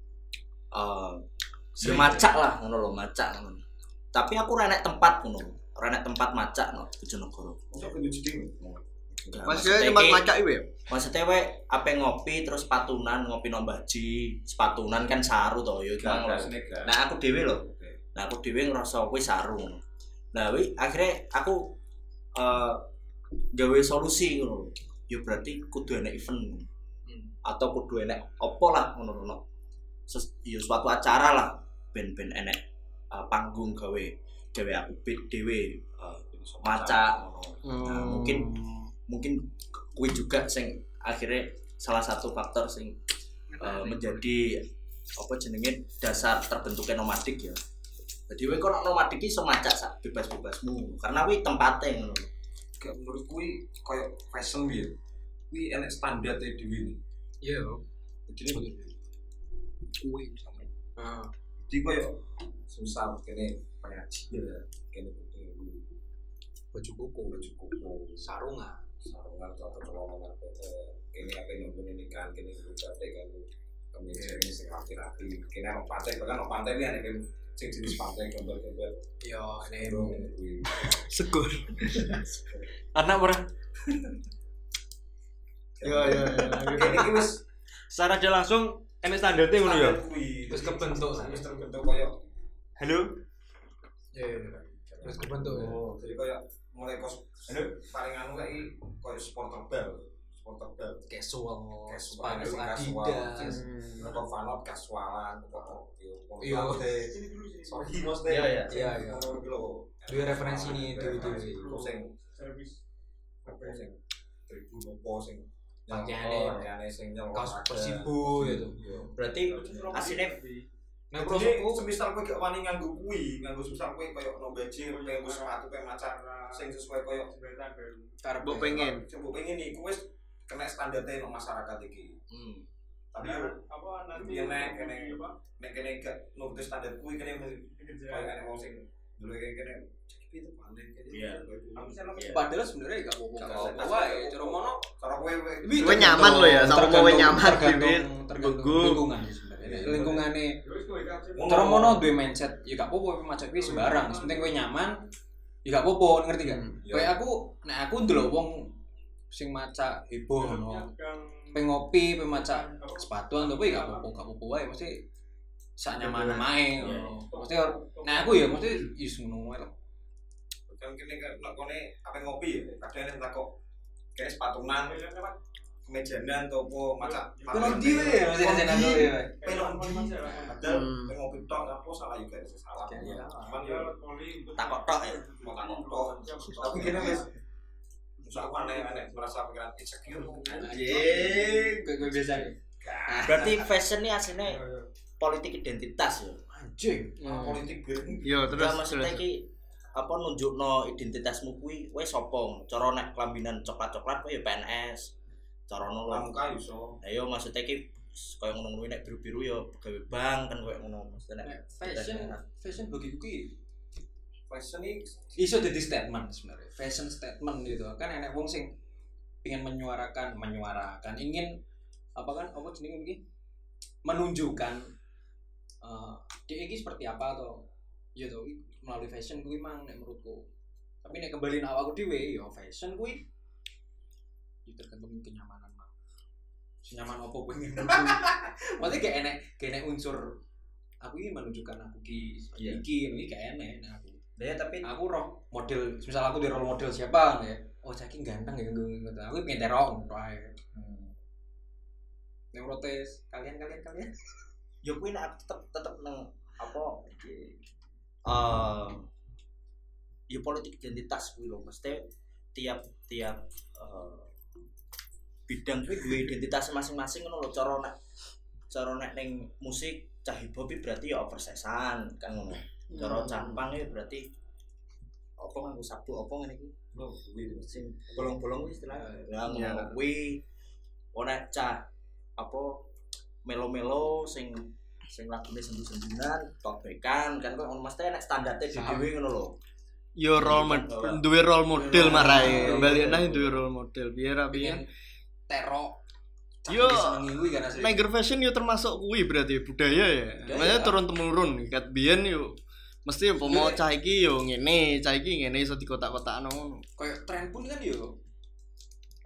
ya macak lah ngono lho, macak ngono. Tapi aku ora nek tempat ngono. Ora nek tempat macak no Bojonegoro.
Sok kudu jadi.
Maksudnya tempat macak iku ya.
Maksudnya we ape ngopi terus patunan, ngopi nang baji, sepatunan kan saru to ya cuma ngono. Nah aku dhewe lho. Nah aku dhewe ngerasa kuwi saru. Nah wi akhirnya aku gawe solusi ngono. Ya berarti kudu enek event. Atau kudu enek opo lah ngono-ngono. Ya suatu acara lah ben-ben enek panggung gawe aku beat dhewe maca ngono. Nah, mungkin kuwi juga sing akhirnya salah satu faktor sing menjadi apa jenenge dasar terbentuknya nomadik ya. Jadi kowe kok nomadik iki iso macak sak bebas-bebasmu karena kuwi tempate ngono.
Kayak menurut kuwi koyo fashion piye. Kuwi enek standar e dhewe. Iya. Jadi kuwi sama. Jadi koyo susah kene pengajian kene baju koko sarungan atau celana kene apa yang meninikan kene berbagai kan kemeja ini sing rapi-rapi kene ono pantai bahkan ono pantai ini ada sing jenis pantai gambar-gambar yo nek
Segur.
Anak ora.
Yo.
kene iki wis
Secara aja langsung enek standarte ngono ya.
wis terbentuk koyo
Halo.
ya wis kebentuk jadi koyo mulai kos paling anu kayak koyo supporter bel casual Adidas atau fanot casualan iya sorry mas deh iya dua referensi ini itu sing tribu nopo sing pakaiane sing kaos Persibo gitu
Berarti asline
nah prosesku semisal kowe gak wani nganggo kuwi nganggo semisal kowe koyo no baju nganggo sepatu kowe macan sing sesuai koyo karep
Mbok pengen
iku wis kena standarte nang masyarakat iki. Tapi apa nanti kene gak nuruti standar kuwi kene koyo kene wong sing dulu kene itu paling kene. Padahal sebenarnya gak apa-apa wae cara mono cara kowe
nyaman lo ya sama kowe nyaman
tergantung lingkungane cara mono duwe mindset ya gak apa-apa macet kuwi sembarang penting kowe nyaman ya gak apa-apa ngerti gak kowe aku ndelok wong sing maca heboh ngono pengopi pemaca sepatuan to kowe gak apa-apa wae mesti sak nyaman mae mesti nek aku ya mesti is ngono wae lho kan kene nek kene apa ngopi ya kadang tak kok kene sepatunan kemejanan atau apa macam pelon dhewe ya mesti jeneng dhewe pelon padahal ngopi tok apa salah juga salah cuman ya
takok tok ya
tapi kene wis susah aneh merasa pikiran insecure
anjing
gue biasa
berarti fashion ini aslinya politik identitas ya
anjing
politik
yo terus
maksudnya iki apa nunjukno identitasmu kuwi kowe sapa cara nek kelambinan coklat-coklat kowe ya PNS cara ngono
muka iso
ayo maksudnya iki koyo ngono-ngono nek biru-biru ya gawe bank kan koyo ngono maksudnya
fashion bagiku ki
fashion iki
iso dadi statement sebenarnya fashion statement gitu kan enek wong sing pengen menyuarakan ingin apa jenenge iki menunjukkan dia ini seperti apa atau ya toh melalui fashion kuwi mang nek menurutku tapi nek kembali nang awakku dhewe ya fashion kuwi ya tergantung kenyamanan mang senyaman apa kowe ngene maksudnya kayak enek unsur aku ini menunjukkan aku iki kayak enek nah aku ya tapi aku roh model misal aku di role model siapa ya oh saking ganteng ya aku pengen terong wae yang protes kalian
yo kuwi nek tetep nang apa ya politik identitas kuwi lho mesti tiap bidang kuwi duwe identitas masing-masing ngono lho cara nek ning musik cah hip hop berarti ya oversesan kan ngono cara campang ya berarti apa nganggo sabuk apa ngene iki lho kuwi sing bolong-bolong kuwi istilahnya lah ngono kuwi ora cah apa melo-melo sing lagune sendu-sendunan tobekan kan kok mesti nek standarte dhewe ngono lho
yo duwe role model marae bali nang duwe role model biar
terok
yo Niger fashion yo termasuk kuwi berarti budaya ya makanya turun temurun kat biyen yo mesti pomo cah iki yo ngene cah iki ngene iso dikotak-kotakno ngono
koyo tren pun kan yo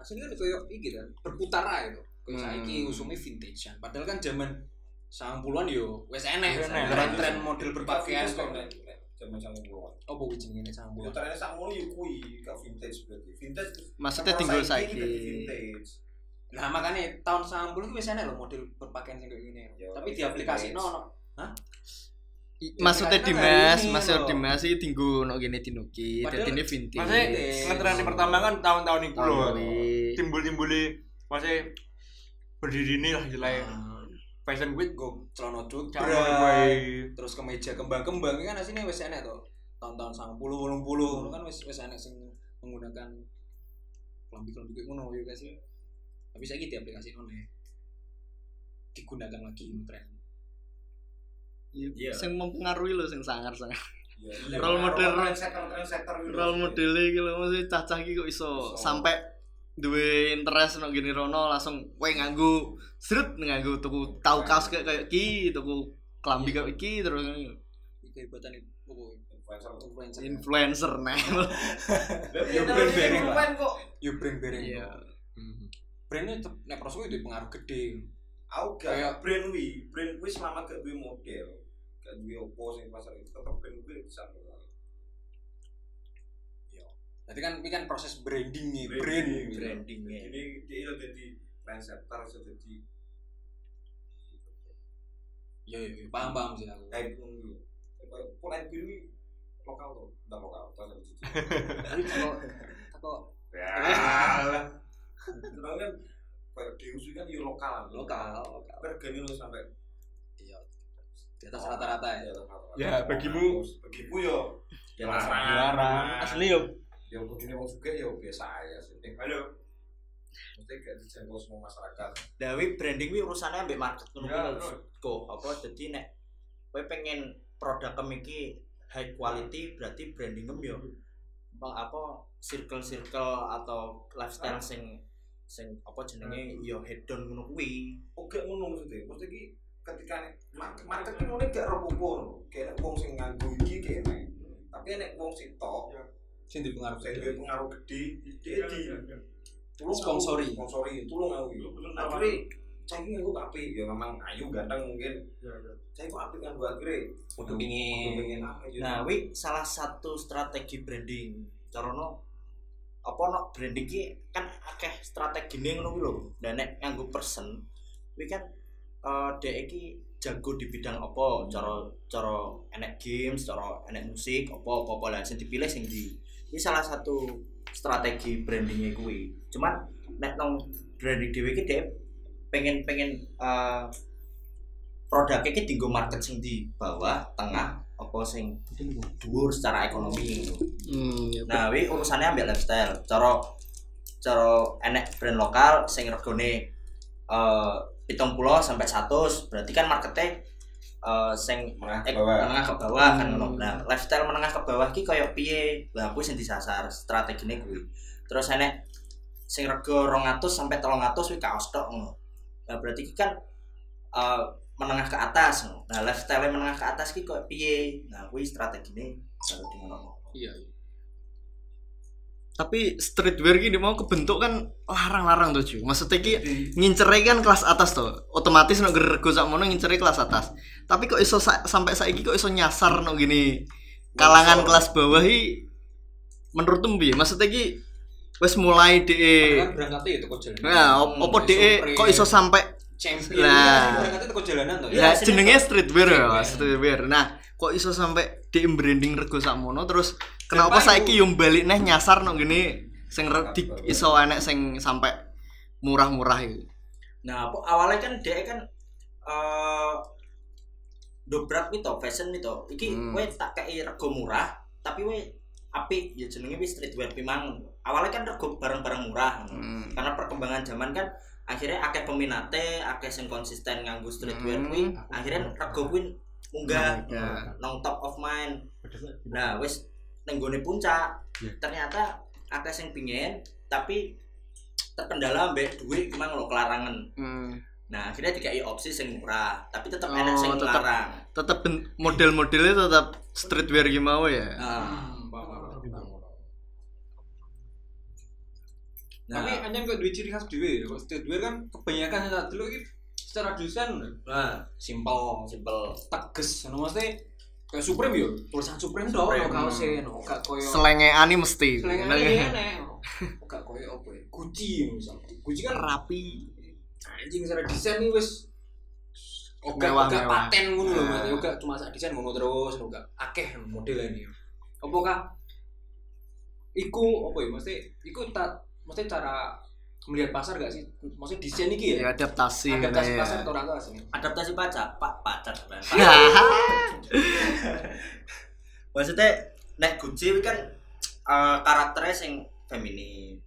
aslinya kan koyo iki kan berputar ae to. Koyo saiki usumnya vintage kan. Padahal kan zaman 90-an yo wis enek tren model berpakaian kok.
Zaman 90-an.
Apa kuwi jenenge 90-an?
Ya trennya sakmono yo kuwi gak vintage berarti. Vintage
Maksudnya tinggal saiki.
Vintage.
Nah, makanya tahun 90 itu wis enek lho model berpakaian sing kayak gini. Tapi di aplikasi ono. Hah?
Maksudnya Dimas iki tinggu ono gene dinuki, dadine vintage.
Maksudnya ngetren pertama kan tahun-tahun itu lho. Timbul-timbuli maksudnya berdiri ini lah istilahnya. Fashion week
Go celana jut, terus kemeja kembang-kembang kan asline wis enek to. Tahun-tahun 90 80 kan wis enek sing menggunakan klambi-klambi kayak ngono ya guys. Tapi saiki di aplikasi ono digunakan lagi tren.
Iya. Sing mempengaruhi lho sing sangar-sangar.
Ya,
Role model
trendsetter gitu.
role model iki lho mesti cacah iki kok iso sampai duwe interest nang gini rono langsung kowe nganggo srut nganggo tuku tau kaos kayak iki tuku klambi kayak iki terus
Kehebatan itu
influencer nah.
Yo
brand bareng.
Iya.
Brandnya nek prosoku itu pengaruh gede.
Aku gak brand wi selama gak duwe model, gak duwe opo sing pasar itu tetep brand wi bisa.
Berarti kan ini kan proses branding nih,
branding.
Jadi dia jadi trendsetter jadi
ya paham sih aku.
kayak dulu. Pola ini lokal tuh, udah lokal, terus ada cici.
Tako
Ya. Terus kan kayak diusul kan di lokal. Harganya lu sampai
iya. Di atas rata-rata ya.
Ya, bagimu
yo.
Ya
larang. Asli yo.
Ya begini wong suka ya biasa aja sih. Halo. Mesti gak dijangkau semua masyarakat.
Dawi branding wi urusannya ambek market ngono kok. Apa dadi nek kowe pengen produk iki high quality berarti branding yo apa circle atau lifestyle sing apa jenenge yo hedon ngono kuwi.
Oke ngono maksudnya. Mesti iki ketika market ki mulai gak ropo kayak wong sing nganggo iki kene. Tapi nek wong sitok
Sing dipengaruh
pengaruh gede di tulung
sponsori
tulung aku akhirnya saya nganggo api ya memang ayu ganteng mungkin saya kok api kan buat akhirnya
untuk ingin
apa
nah wi salah satu strategi branding carono apa no branding ki kan akeh strategine ngono lho dan nek nganggo person wi kan dhek iki jago di bidang apa cara enek games cara enek musik apa lah sing dipilih sing di ini salah satu strategi brandingnya kuwi. Cuman nek nang branding dhewe iki dhek pengen produknya iki dienggo market sing di bawah, tengah, apa sing dhuwur secara ekonomi. Nah, wi urusannya ambek lifestyle. Cara enek brand lokal sing regane 70 sampai 100, berarti kan marketnya sing menengah ke bawah kan ngono. Nah, lifestyle menengah ke bawah ki koyo piye? Lah kuwi sing disasar strategine kuwi. Terus enek sing rega 200 sampai 300 kuwi kaos tok ngono. Nah, berarti ki kan menengah ke atas ngono. Nah, lifestyle menengah ke atas ki koyo piye? Nah, kuwi strategine baru di ngono.
Iya.
Tapi streetwear gini mau kebentuk kan larang-larang tuh cuy. Maksudnya ki ngincernya kan kelas atas tuh. Otomatis nek rego sakmono ngincernya kelas atas. Tapi kok iso sampai saiki kok iso nyasar no gini kalangan kelas bawah iki menurutmu piye? Maksudnya ki wis mulai
kan berangkatnya itu kok jalan.
Nah, opo dhek kok iso sampai
champion berangkatnya kok jalanan to
ya. Jenenge streetwear ya, streetwear. Nah, kok iso sampai di branding rego sakmono terus kenapa saiki yo balik neh nyasar nang gini sing iso enek sing sampai murah-murah iki.
Nah, awalnya kan dhek kan dobrak gitu, fashion gitu. Iki kowe tak kei rego murah, tapi kowe apik ya jenenge wis streetwear pimang. Awalnya kan rego barang-barang murah. Karena perkembangan zaman kan akhirnya akeh peminate, akeh sing konsisten nganggo streetwear kuwi, akhirnya rego kuwi munggah nang top of mind. Nah, wis ning gone puncak. Ternyata akeh sing pingin tapi terkendala mbek duit gimana lo kelarangan. Nah, akhirnya dikai opsi sing murah, tapi tetap enak sing larang.
Tetap model-modelnya tetap streetwear gimana ya?
Tapi anjen kok duwe ciri khas dhewe ya. Kok streetwear kan kebanyakan yang tak delok iki secara desain simple, tegas. Ono mesti kayak Supreme yo, tulisan Supreme tok ono kaose, ono gak koyo
selengeane mesti.
Selengane gak koyo apa ya? Gucci misal. Gucci kan
Rapi.
anjing secara desain iki wis oga paten ngono lho, Mas. Oga cuma sak desain ngono terus, oga akeh modelane. Apa kah? Iku apa ya? Mesti cara melihat pasar gak sih? Maksudnya desain iki ya?
Adaptasi
pasar atau orang sih?
Adaptasi pacar. Maksudnya nek Gucci kan karakternya sing feminis.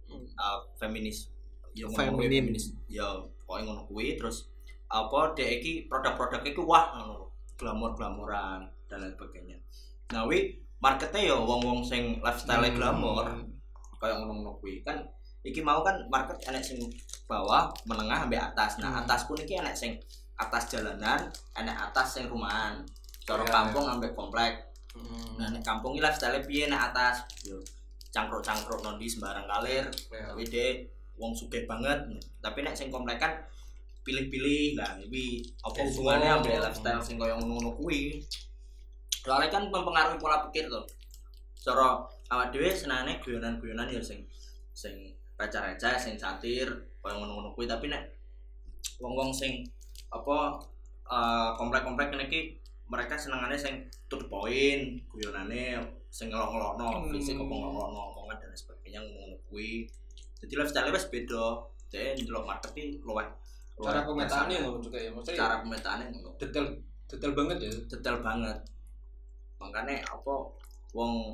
Feminis. Ya, pokoke ngono kuwi terus apa dhek iki produk-produk iku wah ngono. Glamor-glamoran dan lain sebagainya. Nah, marketnya ya wong-wong sing lifestyle glamor. Kayak ngono-ngono kuwi kan iki mau kan market enek sing bawah, menengah sampai atas. Nah, atas pun iki enek sing atas jalanan, enek atas sing rumahan. Cara kampung sampai komplek. Nah, nek kampung iki lifestyle piye nek atas? Yo cangkruk-cangkruk nondi sembarang kalir. Tapi dhek wong sugih banget. Tapi nek sing komplek kan pilih-pilih. Lah iki apa hubungannya ambek lifestyle sing koyo ngono-ngono kuwi? Soalnya kan mempengaruhi pola pikir to. Cara awak dhewe senane guyonan-guyonan ya sing receh-receh, sing satir, koyo ngono-ngono kuwi, tapi nek wong-wong sing apa komplek-komplek ngene iki mereka senengane sing to the point, guyonane sing ngelok-ngelokno, fisik kok ngelok-ngelokno omongan dan sebagainya ngono kuwi. Jadi lifestyle wis beda. Dek ndelok market iki luwih
cara pemetaannya ngono juga ya, maksudnya
cara pemetaannya ngono.
Detail banget ya.
Detail banget. Makanya wong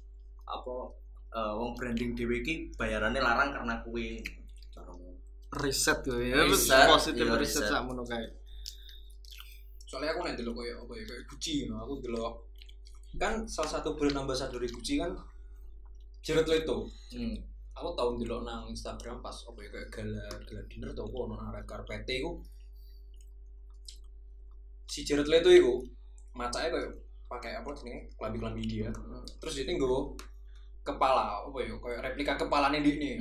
branding dhewe iki bayarannya larang karena kuwi.
Riset tuh ya, positif riset sakmono kae.
Soalnya aku nek delok koyo apa ya, kayak Gucci ngono. Aku delok kan salah satu brand ambassador Gucci kan Jared Leto. Aku tau delok nang Instagram pas apa ya kayak gala dinner tau apa nang red carpet iku. Si Jared Leto iku macake koyo pakai apa jenenge klambi-klambi dia. Terus dia nggo kepala apa ya kayak replika kepalane ndikne.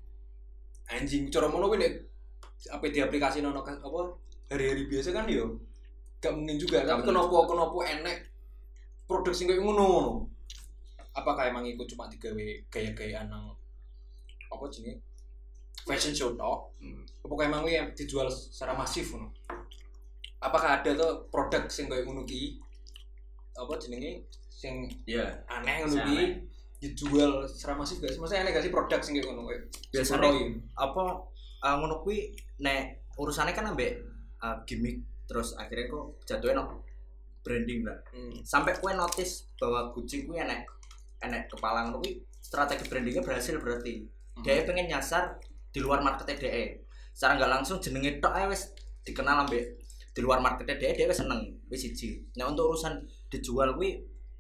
Anjing cara ngono kuwi nek apa di aplikasi nono apa hari-hari biasa kan yo gak mungkin juga. Tapi kenapa enek produk sing koyo ngono. Apakah emang iku cuma digawe gaya-gayaan nang apa jenenge fashion show tok? Apakah emang kuwi dijual secara masif ngono? Apakah ada tuh produk sing koyo ngono ki apa jenenge sing aneh ngono ki dijual secara masif gak sih? Maksudnya aneh gak sih produk sing koyo ngono koyo
biasanya apa ngono kuwi nek urusane kan ambek gimmick terus akhirnya kok jatuhnya branding lah. Sampai kowe notice bahwa Gucci kuwi enek kepala ngono kuwi strategi brandingnya berhasil berarti. Dia pengen nyasar di luar marketnya dia. Secara nggak langsung jenenge tok ae wis dikenal ambek di luar marketnya dia wis seneng wis siji. Nah untuk urusan dijual kuwi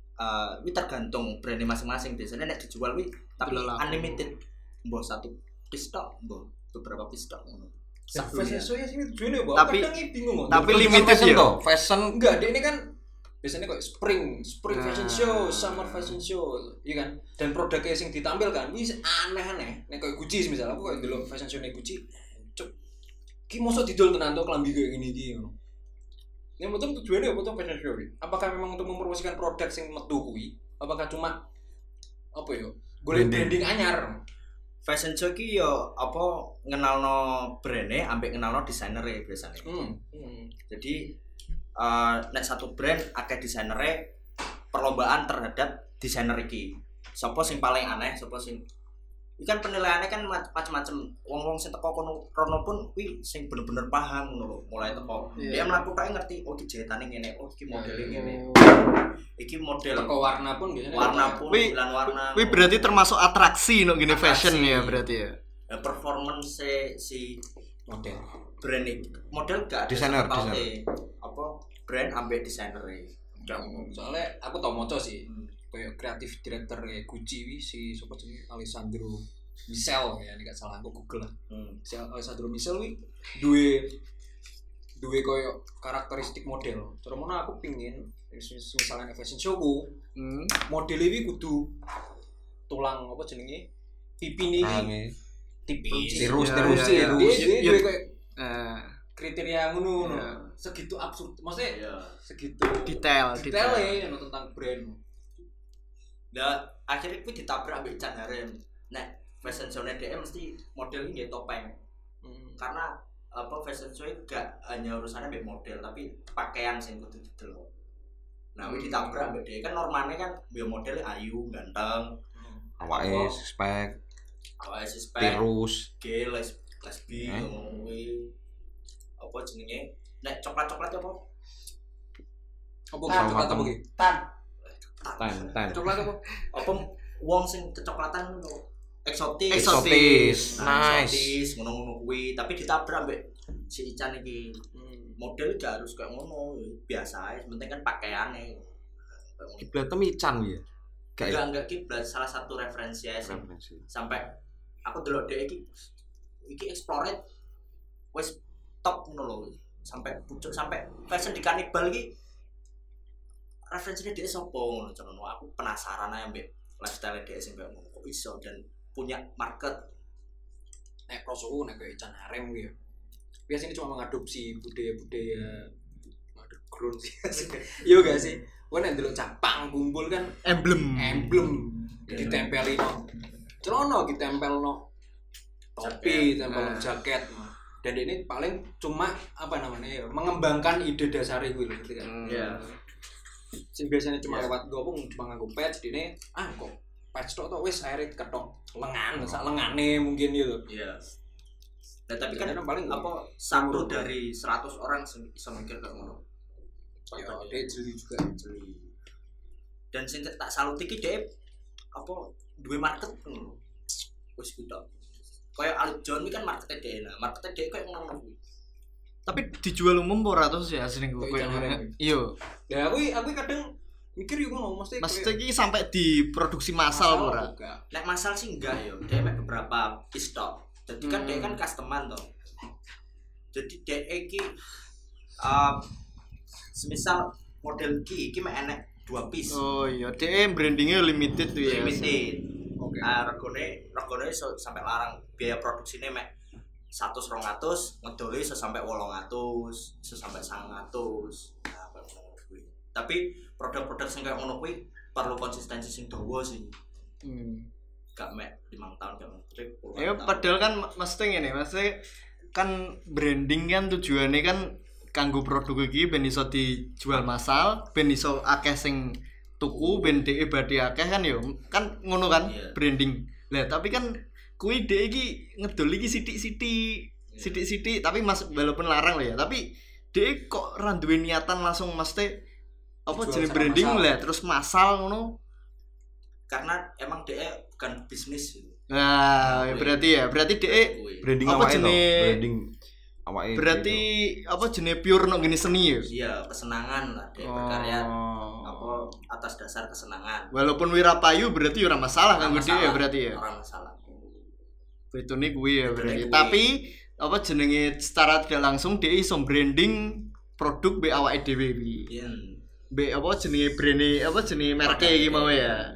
tergantung brandnya masing-masing. Biasanya nek dijual kuwi tapi unlimited. Mbok satu piece tok, mbok beberapa piece tok ngono.
Fashion show ya sini tujuannya apa?
Tapi
kadang bingung.
Tapi limited ya.
Fashion enggak, dia ini kan biasanya kayak spring fashion show, summer fashion show, iya kan? Dan produknya yang ditampilkan, ini aneh-aneh. Nek kayak Gucci misalnya, aku kayak dulu fashion show nek Gucci, cuk, ki mosok didol tenan to klambi kayak gini iki ngono. Yang betul tujuannya apa tuh fashion show? Apakah memang untuk mempromosikan produk yang metu kuwi? Apakah cuma apa ya? Golek branding anyar.
Fashion show ki yo apa ngenalno brand-e ambek ngenalno desainer-e biasanya. Jadi nek satu brand akeh desainere perlombaan terhadap desainer iki. Sopo sing paling aneh, sopo sing ikan penilaiannya kan macam-macam. Wong-wong sing teko kono pun kuwi sing bener-bener paham ngono lho, mulai teko. Dia mlakukan ngerti oh iki jahetane ngene, oh iki modele ngene. Iki model
teko warna pun biasanya
warna pun bilang warna.
Kuwi berarti termasuk atraksi no gini fashion ya berarti ya.
Performance si
model
brand ini model gak
desainer
apa brand ambek desainer
soalnya aku tau moco sih kayak kreatif director kayak Gucci si sopo jenenge Alessandro Michele ya nek gak salah aku Google lah. Si Alessandro Michele wi duwe koyo karakteristik model. Terus mono aku pingin misalnya fashion showku model iki kudu tulang apa jenenge pipi niki
tipis.
Tirus
Ya,
sih.
ya, ya.
Dia
Ya.
kayak
Eh,
kriteria ngono.
Ya.
Segitu absurd. Maksudnya
Iya.
segitu
detail.
detailnya ngono tentang brand.
Nah, akhirnya gue ditabrak ambek Ican Harem. Nah, fashion show-nya dia mesti modelnya nggak topeng. Karena apa fashion show gak hanya urusannya ambek model tapi pakaian sing kudu didelok. Nah, gue ditabrak ambek dia kan normalnya kan dia modelnya ayu, ganteng,
Awake spek,
awake spek,
tirus.
gay, lesbi, ngono kuwi. Apa jenenge? Nek coklat-coklat apa?
Apa
Tan,
coklat apa
tan.
ki?
Ten.
Coklat apa?
Apa wong sing kecoklatan ngono eksotis.
Eksotis.
Nah,
Nice.
eksotis ngono-ngono kuwi, tapi ditabrak mbek si Ican iki. Model gak harus kayak ngono, biasa aja, penting kan pakaiannya.
Kiblat Ican ya.
Enggak kiblat, salah satu referensi aja sih. Sampai aku delok dhek iki explore wis top ngono lho. Sampai pucuk sampai fashion di kanibal iki referensinya dia sopo ngono jenenge. Aku penasaran aja mbek lifestyle dia sing koyo ngono kok iso dan punya market.
Nek prosoku nek kayak Ican Harem gitu. Biasanya cuma mengadopsi budaya-budaya underground sih. Iya gak sih? Wah nek ndelok capang kumpul kan
Emblem.
ditempelin no celana ditempel no topi, tempel jaket. Dan ini paling cuma apa namanya ya, mengembangkan ide dasar itu loh, gitu kan.
Iya.
Sing biasanya cuma lewat gopung cuma nganggo patch dene kok patch tok wis akhirnya ketok lengan, sak lengane mungkin gitu.
Iya. Nah, tapi kan
Jadi paling
apa satu dari 100 orang bisa mikir kayak ngono.
Ya, dia jeli juga.
Jeli. Dan sing tak salut iki dhek apa duwe market ngono. Wis kudu. Kayak Alip John iki kan marketnya dhek. Nah, marketnya dhek kayak ngono kuwi.
Tapi dijual umum ora terus ya asline
Kok
gue.
Ican Harem?
Iya.
Ya aku kadang mikir yo ngono mesti
Maksudnya iki sampai diproduksi massal ora?
Nek masal sih enggak ya. Dhek mek beberapa piece tok. Jadi kan dhek kan customan to. Jadi dhek iki semisal model iki mek enek 2 piece.
Oh iya, dia brandingnya limited tuh ya.
Limited. Oke. Regane iso sampai larang. Biaya produksinya mek 100-200, ngedole iso sampai 800, iso sampai 900. Nah, tapi produk-produk sing kayak ngono kuwi perlu konsistensi sing dawa sih. Gak mek 5 tahun gak mek.
Ya padahal kan mesti ngene, mesti kan branding kan tujuannya kan kanggo produk iki ben iso dijual massal, ben iso akeh sing tuku, ben dhek badhe akeh kan ya. Kan ngono kan branding. Lah tapi kan kuwi dhek iki ngedol iki sithik-sithik tapi walaupun larang lah ya, tapi dhek kok ra duwe niatan langsung mesti apa jeneng branding lah terus massal ngono.
Karena emang dia bukan bisnis gitu.
Nah, berarti dhek
Branding
apa
awake to.
jenis-
Branding awake.
berarti apa jenis pure no gini seni ya?
Iya, kesenangan lah dia berkarya apa atas dasar kesenangan.
Walaupun wirapayu berarti ora masalah kan gede ya berarti ya.
Orang masalah.
Betone kuwi ya berarti.
kuwi.
Tapi apa jenenge secara tidak langsung dia iso branding produk be awake dhewe iki.
Iya.
Be apa jenenge merke iki mau ya.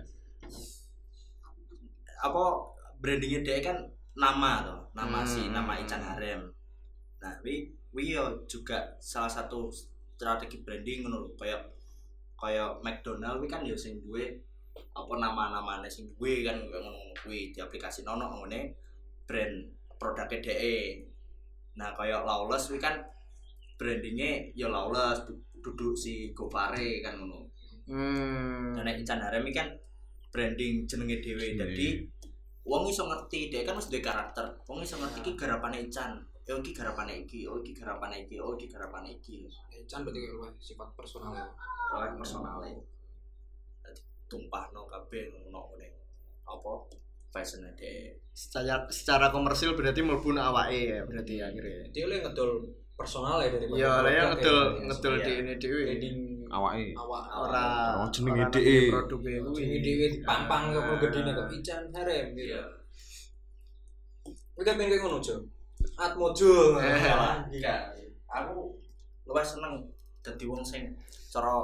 Apa brandingnya dia kan nama loh, nama Ican Harem. Nah, wi juga salah satu strategi branding ngono lho, kayak McDonald wi kan ya sing duwe apa nama-namane sing duwe kan ngono kuwi di aplikasi nono ngene brand produknya DE. Nah, kayak Lawless wi kan brandingnya ya Lawless duduk si Gofare kan ngono. Dan Ican Harem wi kan branding jenenge dhewe. Dadi wong iso ngerti, dhek kan wis duwe karakter. Wong iso ngerti iki garapane Ican. Iki garapane iki, iki garapane iki, iki garapane iki.
Ican berarti kayak sifat personal.
Oleh personale. Dadi tumpahno kabeh ngono ngene. Apa fashion dhek.
Secara komersil berarti mlebu awake ya berarti akhirnya.
Dia oleh ngedol personal ya daripada.
Iya, lah ya ngedol
Iya.
di ini dhewe.
branding
Awake.
awak
Ora
jenenge
ora
DE.
produknya kuwi.
ini dhewe pampang kok gedene kok Ican Harem gitu. Kuwi kan pengen kayak ngono, Jo. Atmojo.
Enggak. Aku luwih seneng dadi wong sing cara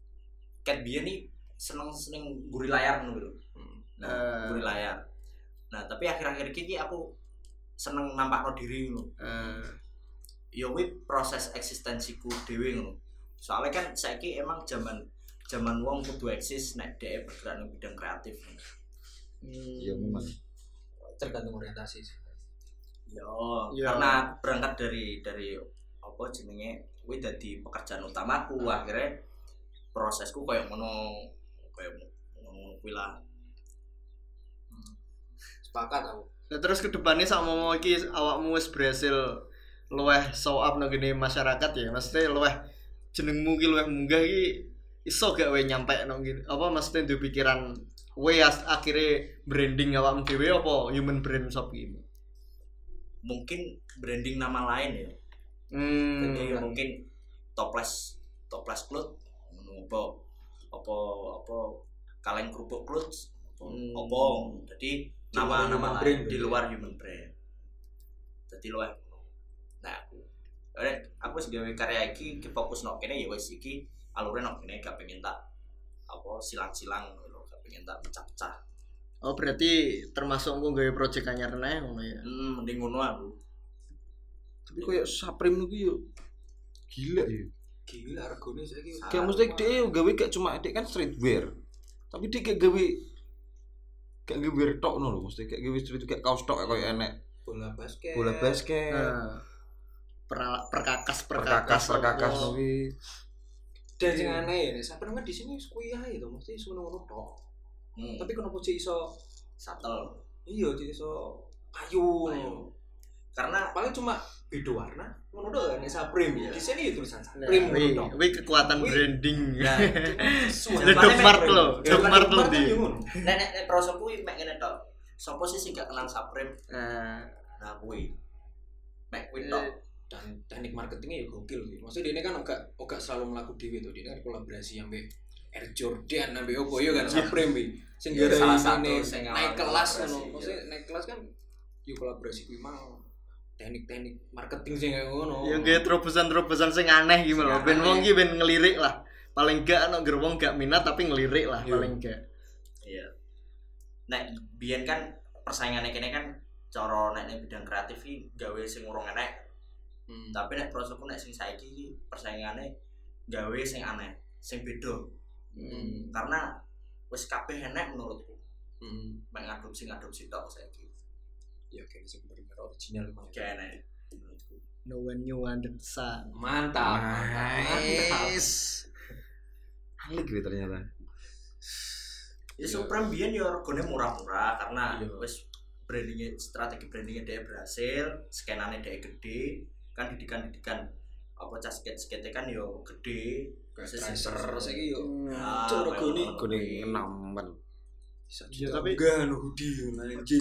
ket biyen iki seneng guri layar ngono lho. Nah, guri layar. Nah, tapi akhir-akhir iki aku seneng nampakno diri ngono. Ya kuwi proses eksistensiku dhewe ngono. Soalnya kan saiki emang zaman wong kudu eksis nek dhek bergerak ning bidang kreatif.
Ya memang tergantung orientasi sih.
Yo, karena berangkat dari apa jenenge kuwi dadi pekerjaan utamaku, akhirnya prosesku koyo ngono kuwi lah.
Sepakat aku.
Nah, terus kedepannya sama iki awakmu wis berhasil luweh show up nang gene masyarakat ya. Maksudnya luweh jenengmu ki luweh munggah iki iso gak wae nyampe nang gene. Apa maksudnya duwe pikiran wae akhirnya branding awakmu dhewe apa human brand shop iki?
Mungkin branding nama lain ya. Jadi mungkin toples cloth apa kaleng kerupuk cloth apa jadi nama lain di luar human brand. Jadi luar. Nah, aku wis gawe karya iki fokus nok kene ya wis iki alure nok kene gak pengen tak apa silang-silang lho, gak pengen tak pecah-pecah.
Oh, berarti termasuk engko gawe project anyar neh ngono ya.
Mending ngono aku.
Tapi koyo Supreme niku yo gila ya. Gila regane saiki. Kayak mesti dhek gawe gak cuma dhek kan streetwear. Tapi dhek gak gawe tok ngono lho, mesti kayak gawe street kayak kaos tok koyo enek. Bola basket.
Perkakas
kuwi. Dan sing aneh ya, Supreme di sini kuwi ae to, mesti ngono tok. Tapi kenapa cek iso
satel?
Iya, cek iso payu.
Karena
paling cuma beda warna, ngono doang nek Supreme. Di sini ya tulisan Supreme ngono tok.
Kuwi kekuatan branding.
Nah,
Dogmart lo di.
Nek prosoku mek ngene tok. Sopo sih gak kenal Supreme? Nah, kuwi. Mek kuwi tok.
Dan teknik marketingnya ya gokil sih. Maksudnya dia kan enggak selalu melaku dhewe to. Dia kan kolaborasi ambek Air Jordan ambek opo yo kan Supreme iki. Sing gara
salah satu
sing naik kelas ngono. Maksudnya naik kelas kan yo kolaborasi kuwi mau teknik-teknik marketing sing ngono.
Ya nggih terobosan-terobosan sing aneh iki lho. Ben wong iki ben ngelirik lah. Paling gak ana wong gak minat tapi ngelirik lah paling gak.
Iya. Nek biyen kan persaingane kene kan cara nek bidang kreatif iki gawe sing urung enek. Tapi nek prosoku nek sing saiki iki persaingane gawe sing aneh, sing beda. Karena wis kabeh enek menurutku. Mek ngadopsi tok saiki. Ya kene sing bener original mah kene.
No one new under the sun.
Mantap. Alik gitu ternyata.
Ya Supreme biyen ya regane murah-murah karena wis strategi brandingnya dia berhasil, skenane dia gede. Kan didikan apa skate kan yo gede
tracer saiki yo
regane
enaman
ya tapi
gak hoodie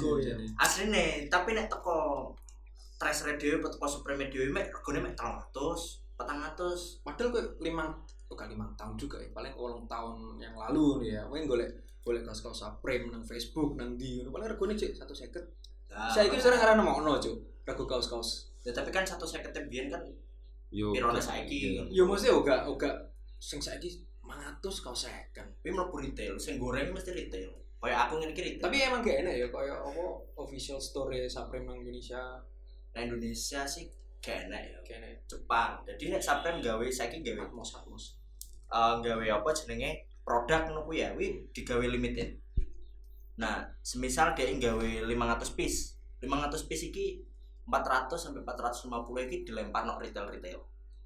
asline tapi nek teko tracer dhewe teko Supreme dhewe mek regane mek 300 400
padahal kowe 5 tahun juga ya paling 8 tahun yang lalu nih ya kowe golek kaos-kaos Supreme nang Facebook nang ndi ngono paling regane cek 150 saiki sekarang karena nemokno cuk rego kaos-kaos.
Ya tapi kan 150 biyen kan pirone saiki.
Yo mesti uga sing saiki 500 kaos second.
Kuwi mlebu retail, sing goreng mesti retail. Kayak aku ngene iki retail.
Tapi emang gak enak ya kayak apa official store Supreme nang Indonesia.
Nah Indonesia sih gak enak ya. Jepang. Jadi nek Supreme gawe saiki gawe Atmos. Gawe apa jenenge produk ngono kuwi ya, kuwi digawe limited. Nah, semisal dia gawe 500 piece. 500 piece iki 400 sampai 450 iki dilempar nok retail.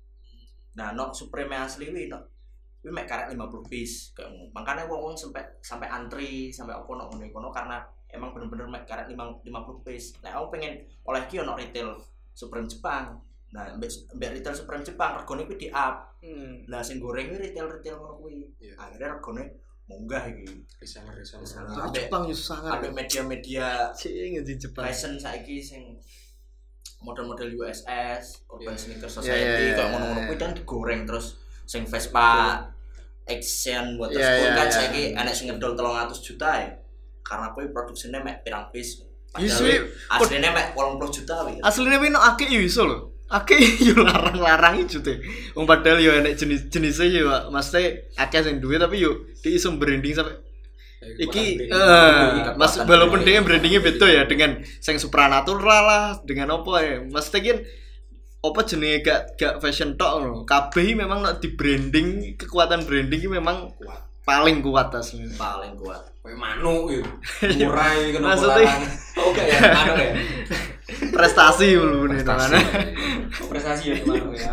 Nah, nok Supreme asli kuwi nok kuwi mek karek 50 piece kayak ngono. Makane wong sampai antri sampai opo nok ngono karena emang bener-bener mek karek 50 piece. Nah, aku pengen oleh ki ono retail Supreme Jepang. Nah, mbek retail Supreme Jepang regane kuwi di-up. Lah sing goreng kuwi retail ngono kuwi. Akhirnya regane munggah iki. Reseller.
Jepang yo sangat.
Ada media-media
sing di Jepang.
Fashion saiki sing model-model USS, Urban Sneaker Society, kayak ngono-ngono kuwi kan digoreng terus sing Vespa Action buat tersebut kan saiki enek sing ngedol 300 juta ya. Karena kuwi produksinya mek pirang piece. Aslinya mek 80 juta kuwi.
Aslinya kuwi nek akeh yo iso lho. Akeh yo larang-larang iki jute. Wong padahal yo enek jenis-jenise yo mesti akeh sing duwe tapi yo dia iso branding sampai Iki Mas walaupun dia brandingnya beda ya dengan sing supranatural lah, dengan apa ya. Mesti kan apa jenenge gak fashion tok ngono. Kabeh memang nek di branding, kekuatan branding iki memang kuat. Paling kuat asline.
Paling kuat.
Kayak manuk yo. Murai kena
Maksudnya-
larang. Oke ya, manuk ya.
Prestasi dulu nih mana.
Prestasi ya manuk ya.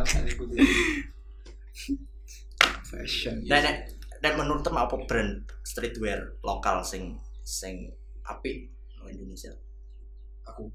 Fashion.
Dan menurut temen apa brand streetwear lokal sing apik nang Indonesia?
Aku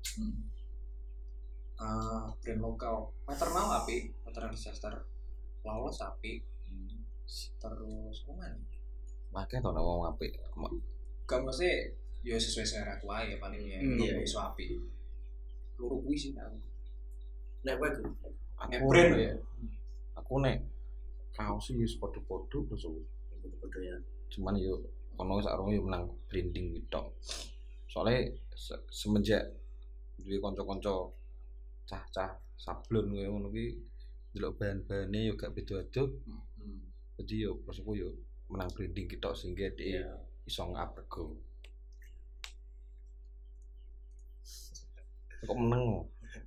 brand lokal maternal api, maternal disaster Lawless api, terus mana
Makanya tau ngomong apik.
gak mesti ya sesuai selera tua ya paling ya
Iya.
iso api luru kuwi sih aku
Nek kowe
nek brand ya
Aku nek kaos iki wis padha-padha terus
bodo ya.
cuman yo ono sarunge yo menang branding tok. Soale semenjak duwe kanca-kanca cah-cah sablon koyo ngono kuwi delok bahan-bahane yo gak beda-beda. Jadi yo maksudku yo menang branding kita sehingga dia iso ngaprego. Kok meneng?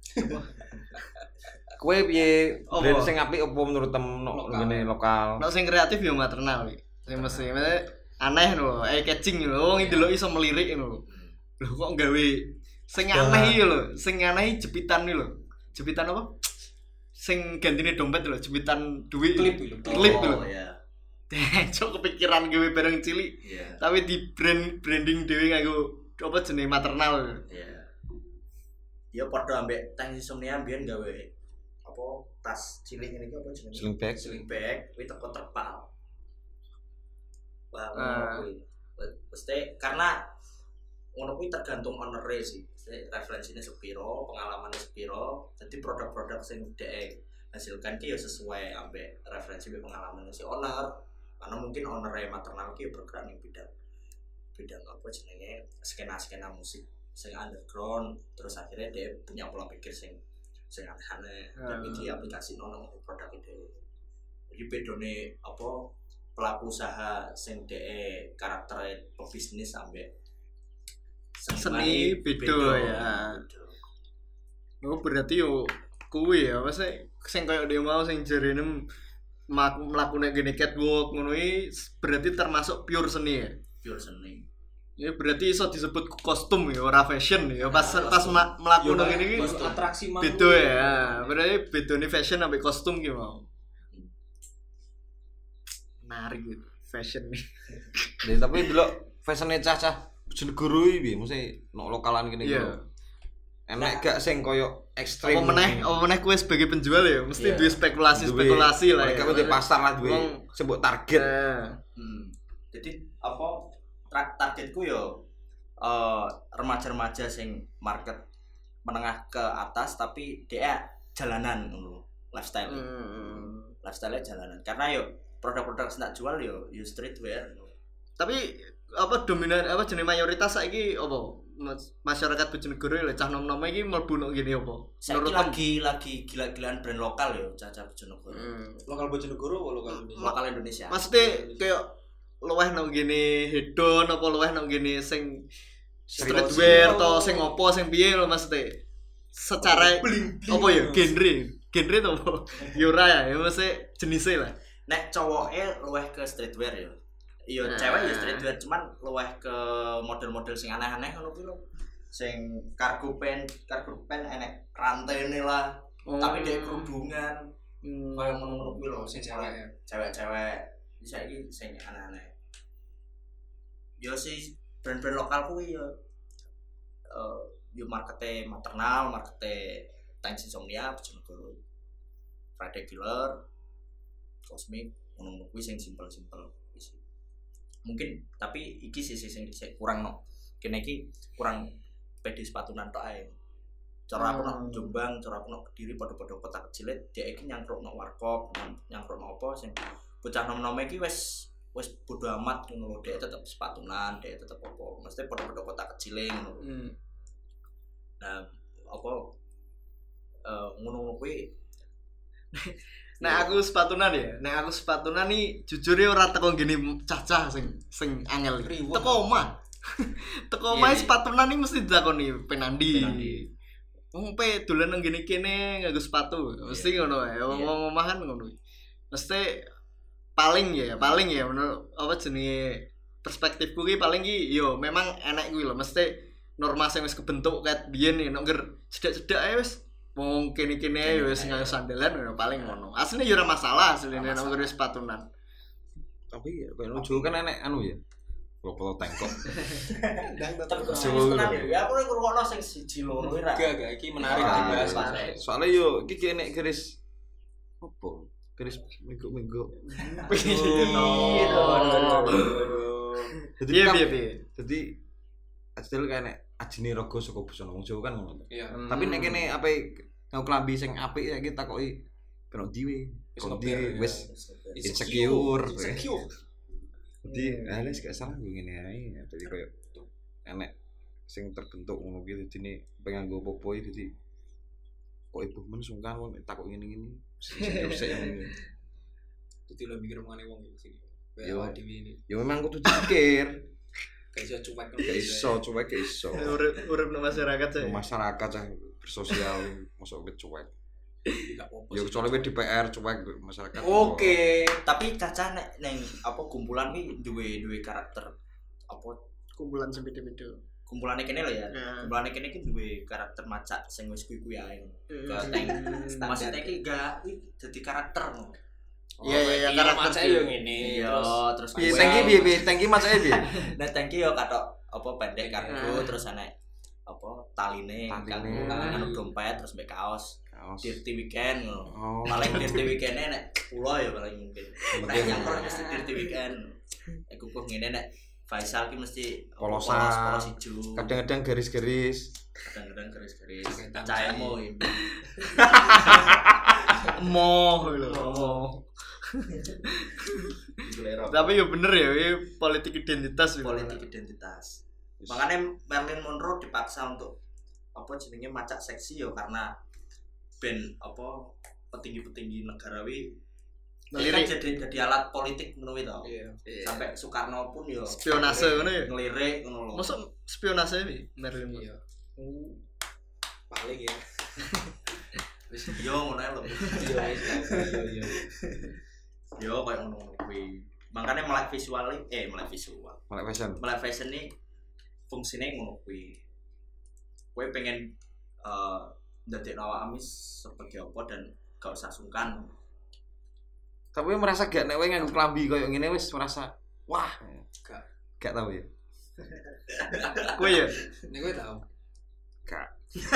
Kowe piye brand sing apik opo menurut tem ngene lokal?
Nek sing kreatif ya maternal iki. Sing mesti aneh lho, catching lho, wong ndelok iso melirik lho. Lho kok gawe sing aneh iki lho, sing aneh jepitan iki lho. Jepitan apa? Sing gantine dompet lho, jepitan duit.
klip
lho.
Ya.
Cok kepikiran gawe bareng cilik.
Iya.
Tapi di branding dhewe nganggo apa jenenge maternal.
Iya. Ya padha ambek Tang Insomnia mbiyen gawe apa tas cilik ngene iki apa jenenge?
Sling bag.
Sling bag kuwi teko terpal. Wah, kuwi. Mesti karena ngono kuwi tergantung owner-e sih. Mesti referensinya sepiro, pengalamannya sepiro. Jadi produk-produk sing dhek hasilkan ki ya sesuai ambek referensi pengalaman si owner. Karena mungkin owner maternal ki bergerak ning bidang apa jenenge skena musik sing underground, terus akhirnya dia punya pola pikir sing aneh-aneh dan diaplikasi nang produk itu. Jadi bedone apa pelaku usaha sing dhek karakter pebisnis ambek
Seni beda ya. Oh berarti yo kuwi ya, masa sing koyo dia mau sing jarene mlakune gene catwalk ngono iki berarti termasuk pure seni ya.
Pure seni.
Ya berarti iso disebut kostum ya, ora fashion ya. Pas mlakune ngene iki
atraksi mau
beda ya. Berarti bedone fashion ambek kostum ki mau. Menarik gitu, fashion nih.
Jadi tapi delok fashion-e cah-cah Bojonegoro iki piye? Mesti nok lokalan kene iki.
Iya.
Enak gak sing koyo ekstrem.
Apa meneh kowe sebagai penjual ya mesti duwe spekulasi lah ya.
Mereka kudu pasar lah duwe sebut target.
Jadi apa targetku yo remaja-remaja sing market menengah ke atas tapi dia jalanan ngono lifestyle. Lifestyle jalanan. Karena yo produk-produk sing tak jual yo streetwear.
Tapi apa dominan apa jenis mayoritas saiki apa masyarakat Bojonegoro lho cah nom-nom iki mlebu nek ngene apa?
Saiki lagi gila-gilaan brand lokal yo cah-cah Bojonegoro.
lokal Bojonegoro apa lokal Indonesia
Lokal Indonesia.
Maksudnya kayak luweh nang ngene hedon apa luweh nang ngene sing streetwear to sing opo sing piye lho maksudnya? Secara apa ya genre to apa? Ya ora ya mesti jenise lah.
Nek cowoke luweh ke streetwear yo. Iya, cewek ya streetwear cuman luweh ke model-model sing aneh-aneh ngono kuwi lho. Sing cargo pant enek rantene lah. Tapi dhek kerudungan. Kayak ngono-ngono kuwi lho sing cewek-cewek bisa iki sing aneh-aneh. Yo sih brand-brand lokal kuwi yo yo markete maternal, markete Tang Insomnia Bojonegoro. Friday Killer, Cosmic, ngono kuwi sing simpel-simpel. Mungkin tapi iki sisi sing kurang no. Kene iki kurang pede sepatunan tok ae. Cara aku nang Jombang, cara aku nang Kediri padha-padha kota kecil dhek iki nyangkruk nang warkop, nyangkruk nang apa sing bocah nom-nom iki wis bodo amat ngono lho, dhek tetep sepatunan, dhek tetep apa. Mesti padha-padha kota kecil ngono. Nah, apa ngono kuwi
Nek aku sepatunan nih jujur ya ora teko ngene cacah sing angel. Teko omah. Teko omah sepatunan nih mesti ditakoni penandi. Wong pe dolan nang ngene kene nganggo sepatu. Mesti ngono ae. Wong omah kan ngono. Mesti paling ya menurut apa jenenge perspektifku ki paling ki yo memang enek kuwi lho mesti norma sing wis kebentuk ket biyen nek cedak-cedak ae wis wong kene-kene ae wis nganggo sandalan paling ngono. Asline yo ora masalah asline nek nganggo sepatunan.
Tapi ya ben ujung kan enek anu ya. Klopo tengkok.
Ya aku ngrungokno sing siji loro ora.
Gak iki menarik dibahas.
Soalnya yo iki enek garis opo? Garis minggu-minggu. Jadi asli kan enek ajine raga saka busana wong Jawa kan ngono. Tapi nek kene ape nggo klambi sing apik saiki takoki kena diwe. Kondi wis insecure. Jadi wis gak salah ngene ae. Jadi koyo enek sing terbentuk ngono ki dene pengen nggo popo iki dadi kok ibu men sungkan kok takok ngene-ngene. Sing dadi lo mikir omongane wong iki. Yo dhewe. Yo memang kudu dipikir. Gak iso cuek.
Urip nang masyarakat saya.
Masyarakat cah bersosial mosok cuek. Ya kecuali di PR cuek masyarakat.
Oke, tapi Caca nek neng apa kumpulan iki duwe karakter apa
kumpulan beda-beda.
Kumpulane kene lho ya. Kumpulane kene iki duwe karakter macak sing wis kuwi ae. Keteng. Maksudnya iki gak dadi karakter ngono.
Iya karakter
yo ngene.
Iya, terus
Tangki macake piye?
Nah, tangki yo katok apa pendek kargo terus ana apa taline kanggo dompet terus mbek kaos. Dirty weekend ngono. Paling dirty weekend-e nek pulo ya paling mungkin. Nek yang mesti dirty weekend. Aku kok ngene nek Faisal ki mesti
polos
ijo.
Kadang-kadang garis-garis.
Caemo.
Moh lho. Tapi ya bener ya, ini politik identitas.
Makanya Marilyn Monroe dipaksa untuk apa jenenge macak seksi ya karena ben apa petinggi-petinggi negara wi kan jadi alat politik ngono to. Sampai Soekarno pun yo
spionase ngono ya.
Ngelirik ngono lho.
Mosok spionase wi Marilyn Monroe.
Paling ya.
Wis yo ngono lho. Yo koyo ngono kuwi. Makane melek visual. Melek fashion ini fungsine ngono kuwi. Kowe pengen ndadekno awakmu sebagai apa dan gak usah sungkan.
Tapi merasa gak nek kowe nganggo klambi koyo ngene wis merasa wah, gak tau ya.
Kowe ya?
Nek kowe tau.
Gak.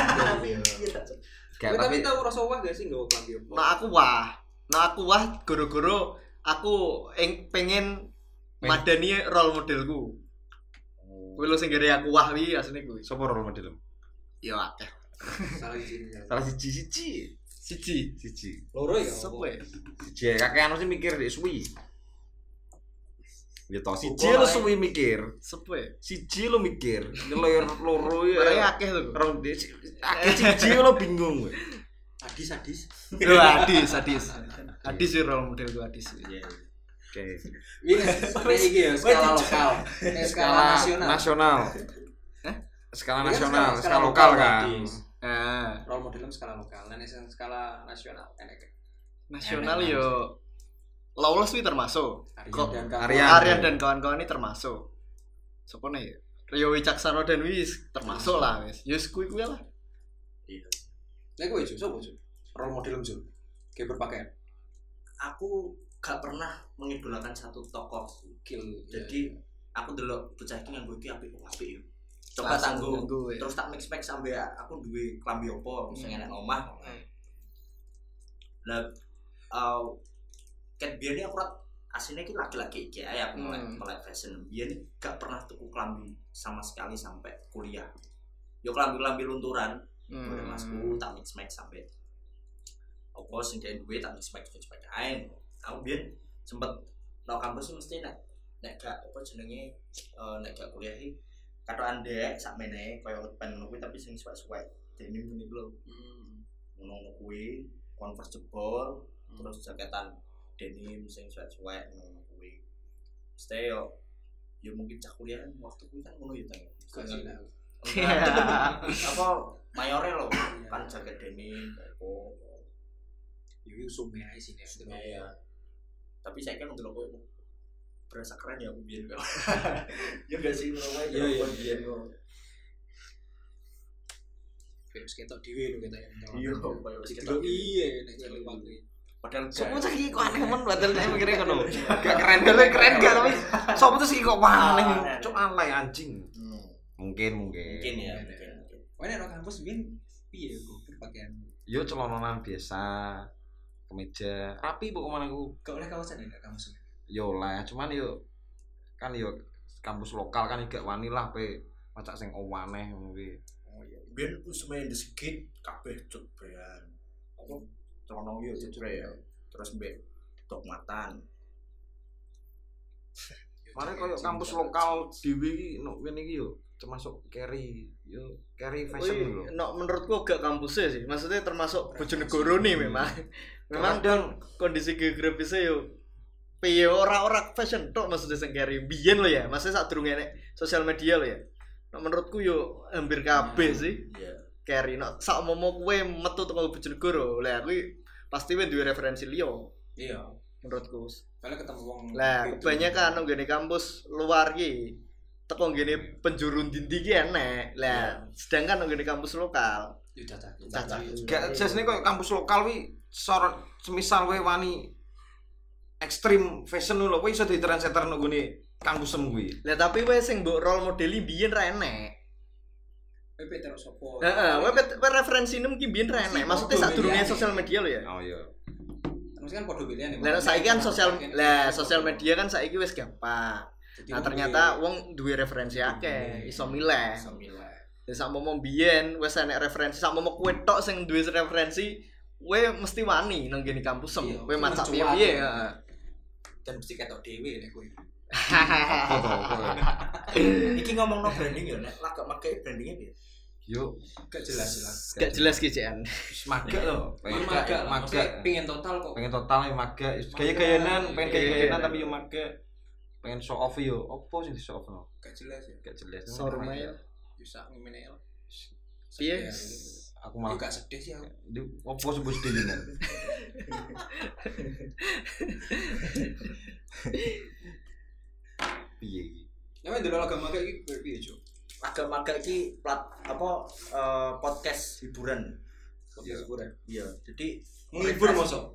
Tapi tau rasa wah gak sih nggawa klambi apa?
Nah aku wah goro-goro aku pengen madani role modelku. Kowe lho sing gere aku wah wi asline kuwi.
Sopo role modelmu?
Ya akeh.
Salah siji.
Loro ya.
Sopo ya?
Siji kakean sih mikir dek suwi. Ya toh siji lo suwi mikir.
Sopo ya?
Siji lo mikir. Loro ya.
Barang akeh to.
Rong akeh siji lo bingung.
Adis.
Yo Adis. Adis sih role modelku Adis.
Iya.
Oke.
Iki ya skala lokal. Skala
nasional. Skala nasional, skala lokal kan.
Role modelnya skala lokal, dan skala nasional enak.
Nasional yo Lawless wi termasuk.
Aryan
dan kawan-kawan ini termasuk. Sopo nih? Rio Wicaksana dan wis termasuk lah wis. Yo kuwi lah.
Iya.
Nek kowe sopo role modelmu kayak berpakaian.
Aku gak pernah mengidolakan satu tokoh jadi aku delok bocah iki nganggo iki apik yo. Coba tanggo terus tak mix sampe aku duwe klambi opo sing enek omah. Lah ket biyen aku asline iki laki-laki iki ae aku mulai fashion. Biyen gak pernah tuku klambi sama sekali sampai kuliah. Yo klambi lunturan. Udah masku tak mix sampai opo sing duwe tak mix ae. Aku biyen sempet nang kampus mesti nek gak apa jenenge nek gak kuliah iki katokan ndek sakmene koyo pen kuwi tapi sing suwek-suwek denim ngene lho. Ngono kuwi Converse jebol terus jaketan denim sing suwek-suwek ngono kuwi. Stay yo mungkin cak kuliah waktu kuwi kan ngono ya Tang. Apa mayore lho kan jaket denim kok
Yo sume ae sini.
ya. Tapi saya kan ndelok koyo berasa keren ya aku biyen kan. Ya gak sih ngono wae
Iya, iya.
biyen kok.
Terus ketok dhewe lho kita yang.
Iya, koyo wis
Ketok iya nek nyelip waktu.
padahal sopo tuh iki kok aneh men padahal saya mikirnya ngono. Gak keren gak tapi sopo tuh iki kok aneh.
Cuk alay anjing. Mungkin.
Mungkin ya.
Wah nek kampus biyen piye kok berpakaian?
Yo celana biasa, kemeja, rapi pokoknya aku.
Gak oleh kawasan ya kampus.
Yo lah, cuman yo kan yo kampus lokal kan gak wani lah pe macak sing owaneh ngono kuwi.
Oh iya. Biyen wis main disekit kabeh cut bean. Apa celana yo cut ya. Terus mbek dogmatan.
Mare koyo kampus lokal dhewe iki nek kene iki yo termasuk carry fashion lho.
No, menurutku gak kampusnya sih. Maksudnya termasuk Bojonegoro nih memang. Memang dan kondisi geografisnya yo piye ora fashion tok maksudnya sing carry. Biyen lho ya. Maksudnya sak durunge nek sosial media lho ya. No, menurutku yo hampir kabeh sih.
Iya.
Carry no sak momo kowe metu teko Bojonegoro. Lah kuwi pasti wis duwe referensi liya
Iya.
menurutku.
Kalau ketemu wong.
Lah kebanyakan nang ngene kampus luar ki teko ngene penjuru ndi ki enek. Lah sedangkan nang ngene kampus lokal
Yo cacat.
Gak jesne koyo kampus lokal wi sorot semisal kowe wani ekstrim fashion lho kowe iso dadi trendsetter nang gone kampusem kuwi.
Lah tapi wes sing mbok role modeli biyen ra enek.
PP terus sopo?
Heeh, wes referensi nem ki biyen ra enek. Maksudnya sadurunge sosial media lho ya.
Oh iya.
Terus kan padha pilihan ya.
Lah saiki kan sosial media kan saiki wis gampang. Nah ternyata wong duwe referensi akeh, iso milih. Lah sak momo biyen wis enek referensi, sak momo kowe tok sing duwe referensi, kowe mesti wani nang ngene kampusem. Kowe macak piye-piye, heeh.
Dan mesti ketok dhewe nek kowe.
Iki ngomongno branding ya nek lagak make brandingnya piye?
Yo
Gak jelas.
Gak jelas ki Jan.
wis magak lho.
Magak pengen total kok.
Pengen total ya magak. Gaya-gayanan, pengen gaya-gayanan tapi yo magak. Pengen show off yo. Opo sing di show off no?
Gak jelas ya.
Gak jelas.
Showroom ae.
Bisa ngimene.
Piye?
Aku malah
gak sedih sih aku.
Opo sebut sedih jenengan. Piye iki?
Ya ndelok agama kayak iki piye, Cuk?
Agak-agak iki podcast hiburan. Iya, jadi
Menghibur mosok.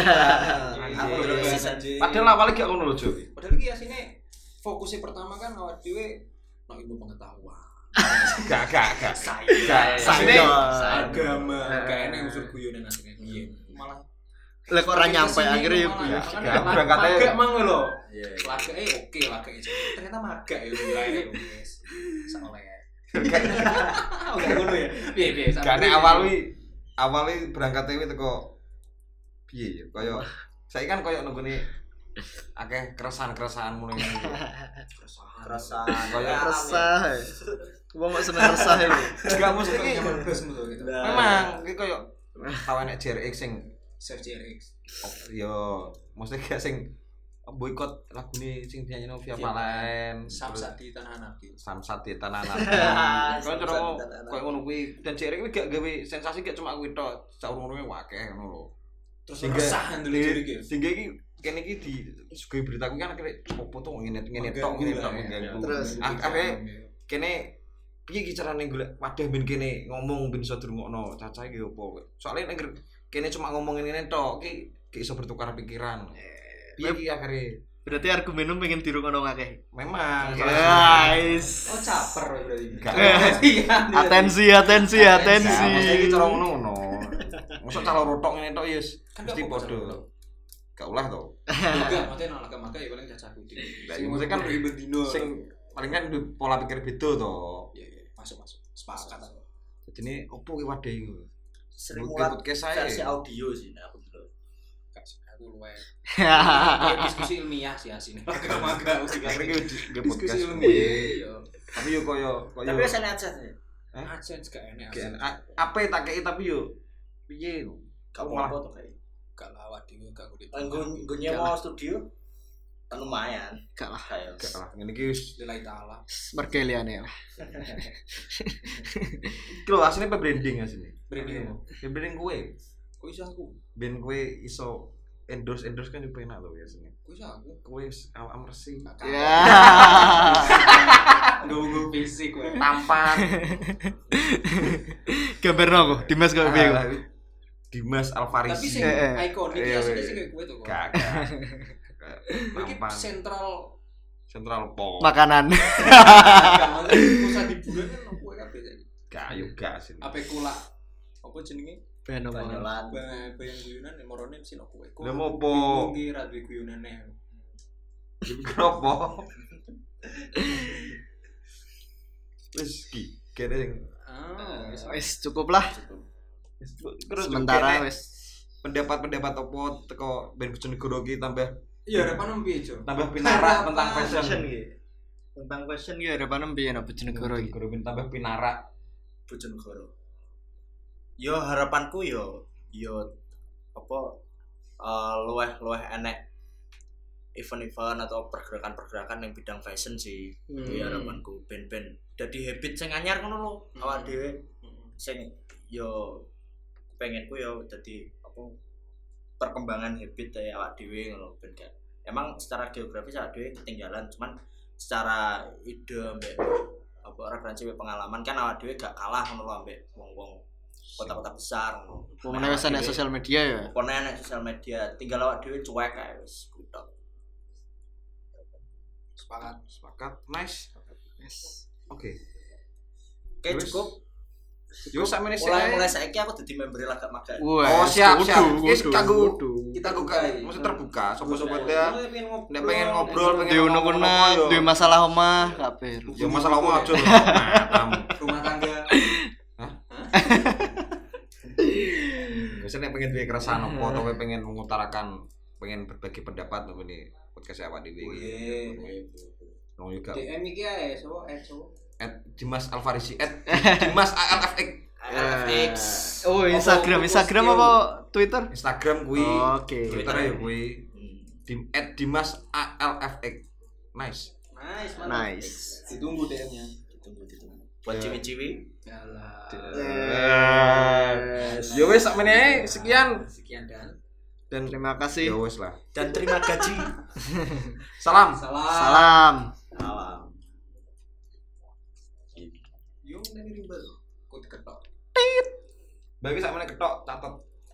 Padahal awalnya gak ngono lho, Jo.
Padahal iki asine fokusnya pertama kan awak dhewe nang ilmu pengetahuan.
Gak.
Asine agama, gak enak unsur guyonan asine. Iya. Malah
Lah kok ora nyampe akhirnya yo kuwi.
Berangkatnya
magak mang lho.
Iya.
Lagake oke lagake. Ternyata magak ya wilayah wis. Saoleh. Enggak ngono ya. Piye.
gak nek awal berangkatnya wi teko piye ya kaya saiki kan kaya nunggune akeh keresahan-keresahan mulai
Keresahan.
kaya
Resah. Wong kok seneng resah lho.
gak mesti iki
gitu.
memang iki kaya tau enek JRX sing
Chef JRX.
yo mesti gak sing boikot lagune sing dinyanyi Via Valen
Samsat di Tanah Nabi.
Samsat di Tanah Nabi kaya cara kaya ngono kuwi dan JRX kuwi gak gawe sensasi gak cuma kuwi tok saurung-urunge akeh ngono lho
Terus keresahan dulu iki.
sehingga iki kene iki di sugih berita kuwi kan akhire opo to ngene tok mengganggu
Terus
akhire kene piye iki carane golek wadah ben kene ngomong ben iso dirungokno cacah iki opo soalnya nek kene cuma ngomongin ngene tok iki gak iso bertukar pikiran piye iki akhire
berarti argumenmu pengen dirungokno akeh.
memang
Guys.
Oh caper berarti.
Atensi.
iki cara ngono mosok calo rotok ngene tok ya mesti padha gak ulah to
Enggak, maksudnya nang agama ya paling cacaku iki.
maksudnya kan
bendino.
sing paling kan pola pikir beda to
Iya, masuk. Sepakat aku.
jadinya opo ki wadah iki
Sering
Bukti
muat
podcast saya.
versi audio sih nek aku dulu.
Aku luwe. Diskusi ilmiah sih asine. Agama
akhirnya ke podcast
Diskusi ilmiah.
tapi yo koyo
Tapi rasane aja sih.
Adsense gak enak.
apa tak kei tapi yo piye
Kamu
malah
apa tuh kayak?
Gak lah awak dhewe gak kudu.
Nggo nyewa studio kan lumayan.
Gak lah.
Kayak
Gak lah ngene iki wis
Lillahi taala.
Mergo liyane lah.
iki lho asline branding asline.
Branding apa?
Branding kowe.
Kok iso aku?
Ben kowe iso endorse kan juga enak lho biasanya.
Kok iso aku?
Kowe awak resik.
Ya.
Nggo fisik kowe.
Tampan.
Gambarno kok Dimas kok piye kok.
Dimas
Tapi
Alfarisi.
sing ikonik
Iya,
asline
iya.
sing kowe to kok.
Gak.
Iki
Tampan.
sentral
Po.
Makanan.
pusat hiburan kan kowe kabeh saiki.
Gak yo gak sih.
Ape kula apa jenenge?
banyolan.
Bayang guyonan morone mesti nok kowe.
Lah mopo?
Iki ra duwe guyonane.
Kenapa? Wis ki kene sing
Wis cukup lah. Sementara wis
pendapat-pendapat apa teko Ben Bojonegoro iki tambah
iya harapan piye, Jo?
tambah pinarak tentang fashion
iki. Tentang fashion iki harapan piye nek Bojonegoro iki?
Bojonegoro tambah pinarak.
Bojonegoro. Yo harapanku yo apa luweh enek event-event atau pergerakan-pergerakan yang bidang fashion sih. Kuwi harapanku ben-ben dadi habit sing anyar ngono lho awak dhewe. Sing yo pengenku yo dadi apa perkembangan habit ya awak dhewe ngono ben gak. Emang secara geografis awak dhewe ketinggalan cuman secara ide mbek apa referensi pengalaman kan awak dhewe gak kalah ngono lho ambek wong-wong kota-kota besar ngono.
Pokoknya wis ana sosial media ya.
Pokoknya ana sosial media, tinggal awak dhewe cuek ae wis kutok.
Sepakat. Nice.
Yes.
Oke.
Oke cukup.
Yo sakmene sik.
Mulai saiki aku dadi member Lagak Maga.
Oh, siap. Wis kanggo
Kita
buka, mesti terbuka. Sopo-sopo dia nek pengen ngobrol, pengen
Di unek-unek, di masalah omah kabeh.
Ya masalah omah aja lho. Matamu.
rumah tangga.
Biasanya nek pengen duwe keresahan apa atau pengen mengutarakan, pengen berbagi pendapat apa nih podcast awak dhewe iki. Nang juga.
DM iki ae, sopo?
Dimas Alfarisi Dimas ALFX.
FX.
Oh, Instagram apa Twitter?
Instagram kuwi.
Oke.
Twitter ya kuwi. Dimas ALFX. Nice.
Nice.
Ditunggu DM-nya.
Ditunggu. Buat ciwi-ciwi.
Yalah.
Ya wis sakmene ae sekian
Dan
Terima kasih.
ya wis lah.
Dan terima gaji.
Salam.
Salam.
Salam.
Yo nek ribet kok diketok.
Bagi sakmene ketok catet.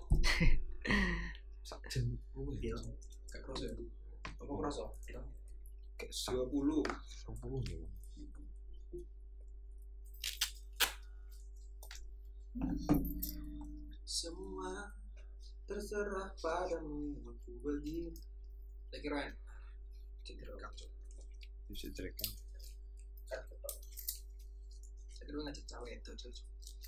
Sak jen.
Gak kroso ya. Apa kroso?
Kayak sak
20.
10 ya.
Semua terserah padamu aku bagi. Tak kira. Cedera kacau.
Bisa cerekan.
Cedera ngajak cawe itu cocok.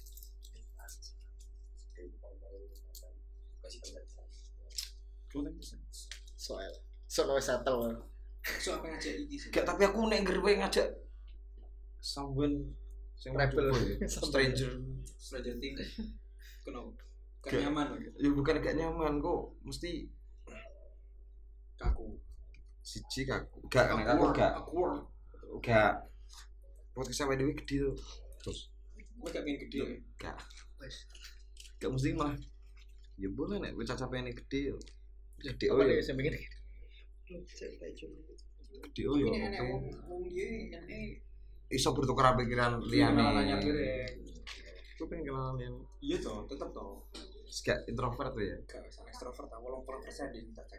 Soal settle.
So apa ngajak iki sih?
Gak, tapi aku nek ngerwe ngajak someone sing
Rebel.
stranger.
Stranger Things. Kenapa? Kan nyaman lho.
Ya bukan gak nyaman kok, mesti
Kaku.
siji kaku. Gak nek aku gak podcast sampe dhewe gede to. Terus
Gue gak pengen gede.
gak. Gak mesti malah. Ya boleh nek wis capekane gede yo. Gede oh ya.
Saya mikir.
Gede oh yo.
Ini enek wong dia enek
Iso bertukar pikiran liyane.
nanya pireng.
Aku pengen kenalan liyane.
Iya toh, tetep toh.
Gak introvert tuh ya.
Gak sama ekstrovert, 80% di kita cek.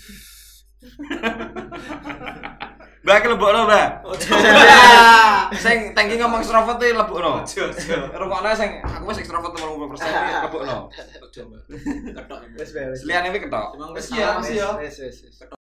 Mbak iki lebokno, Mbak. Sing tangki ngomong ekstrovert tuh lebokno. Rokokne sing aku wis ekstrovert 80% lebokno.
Ojo, Mbak. Ketok.
Wes wes.
Liyane iki ketok.
Emang
Wes
wis
ya. Wes.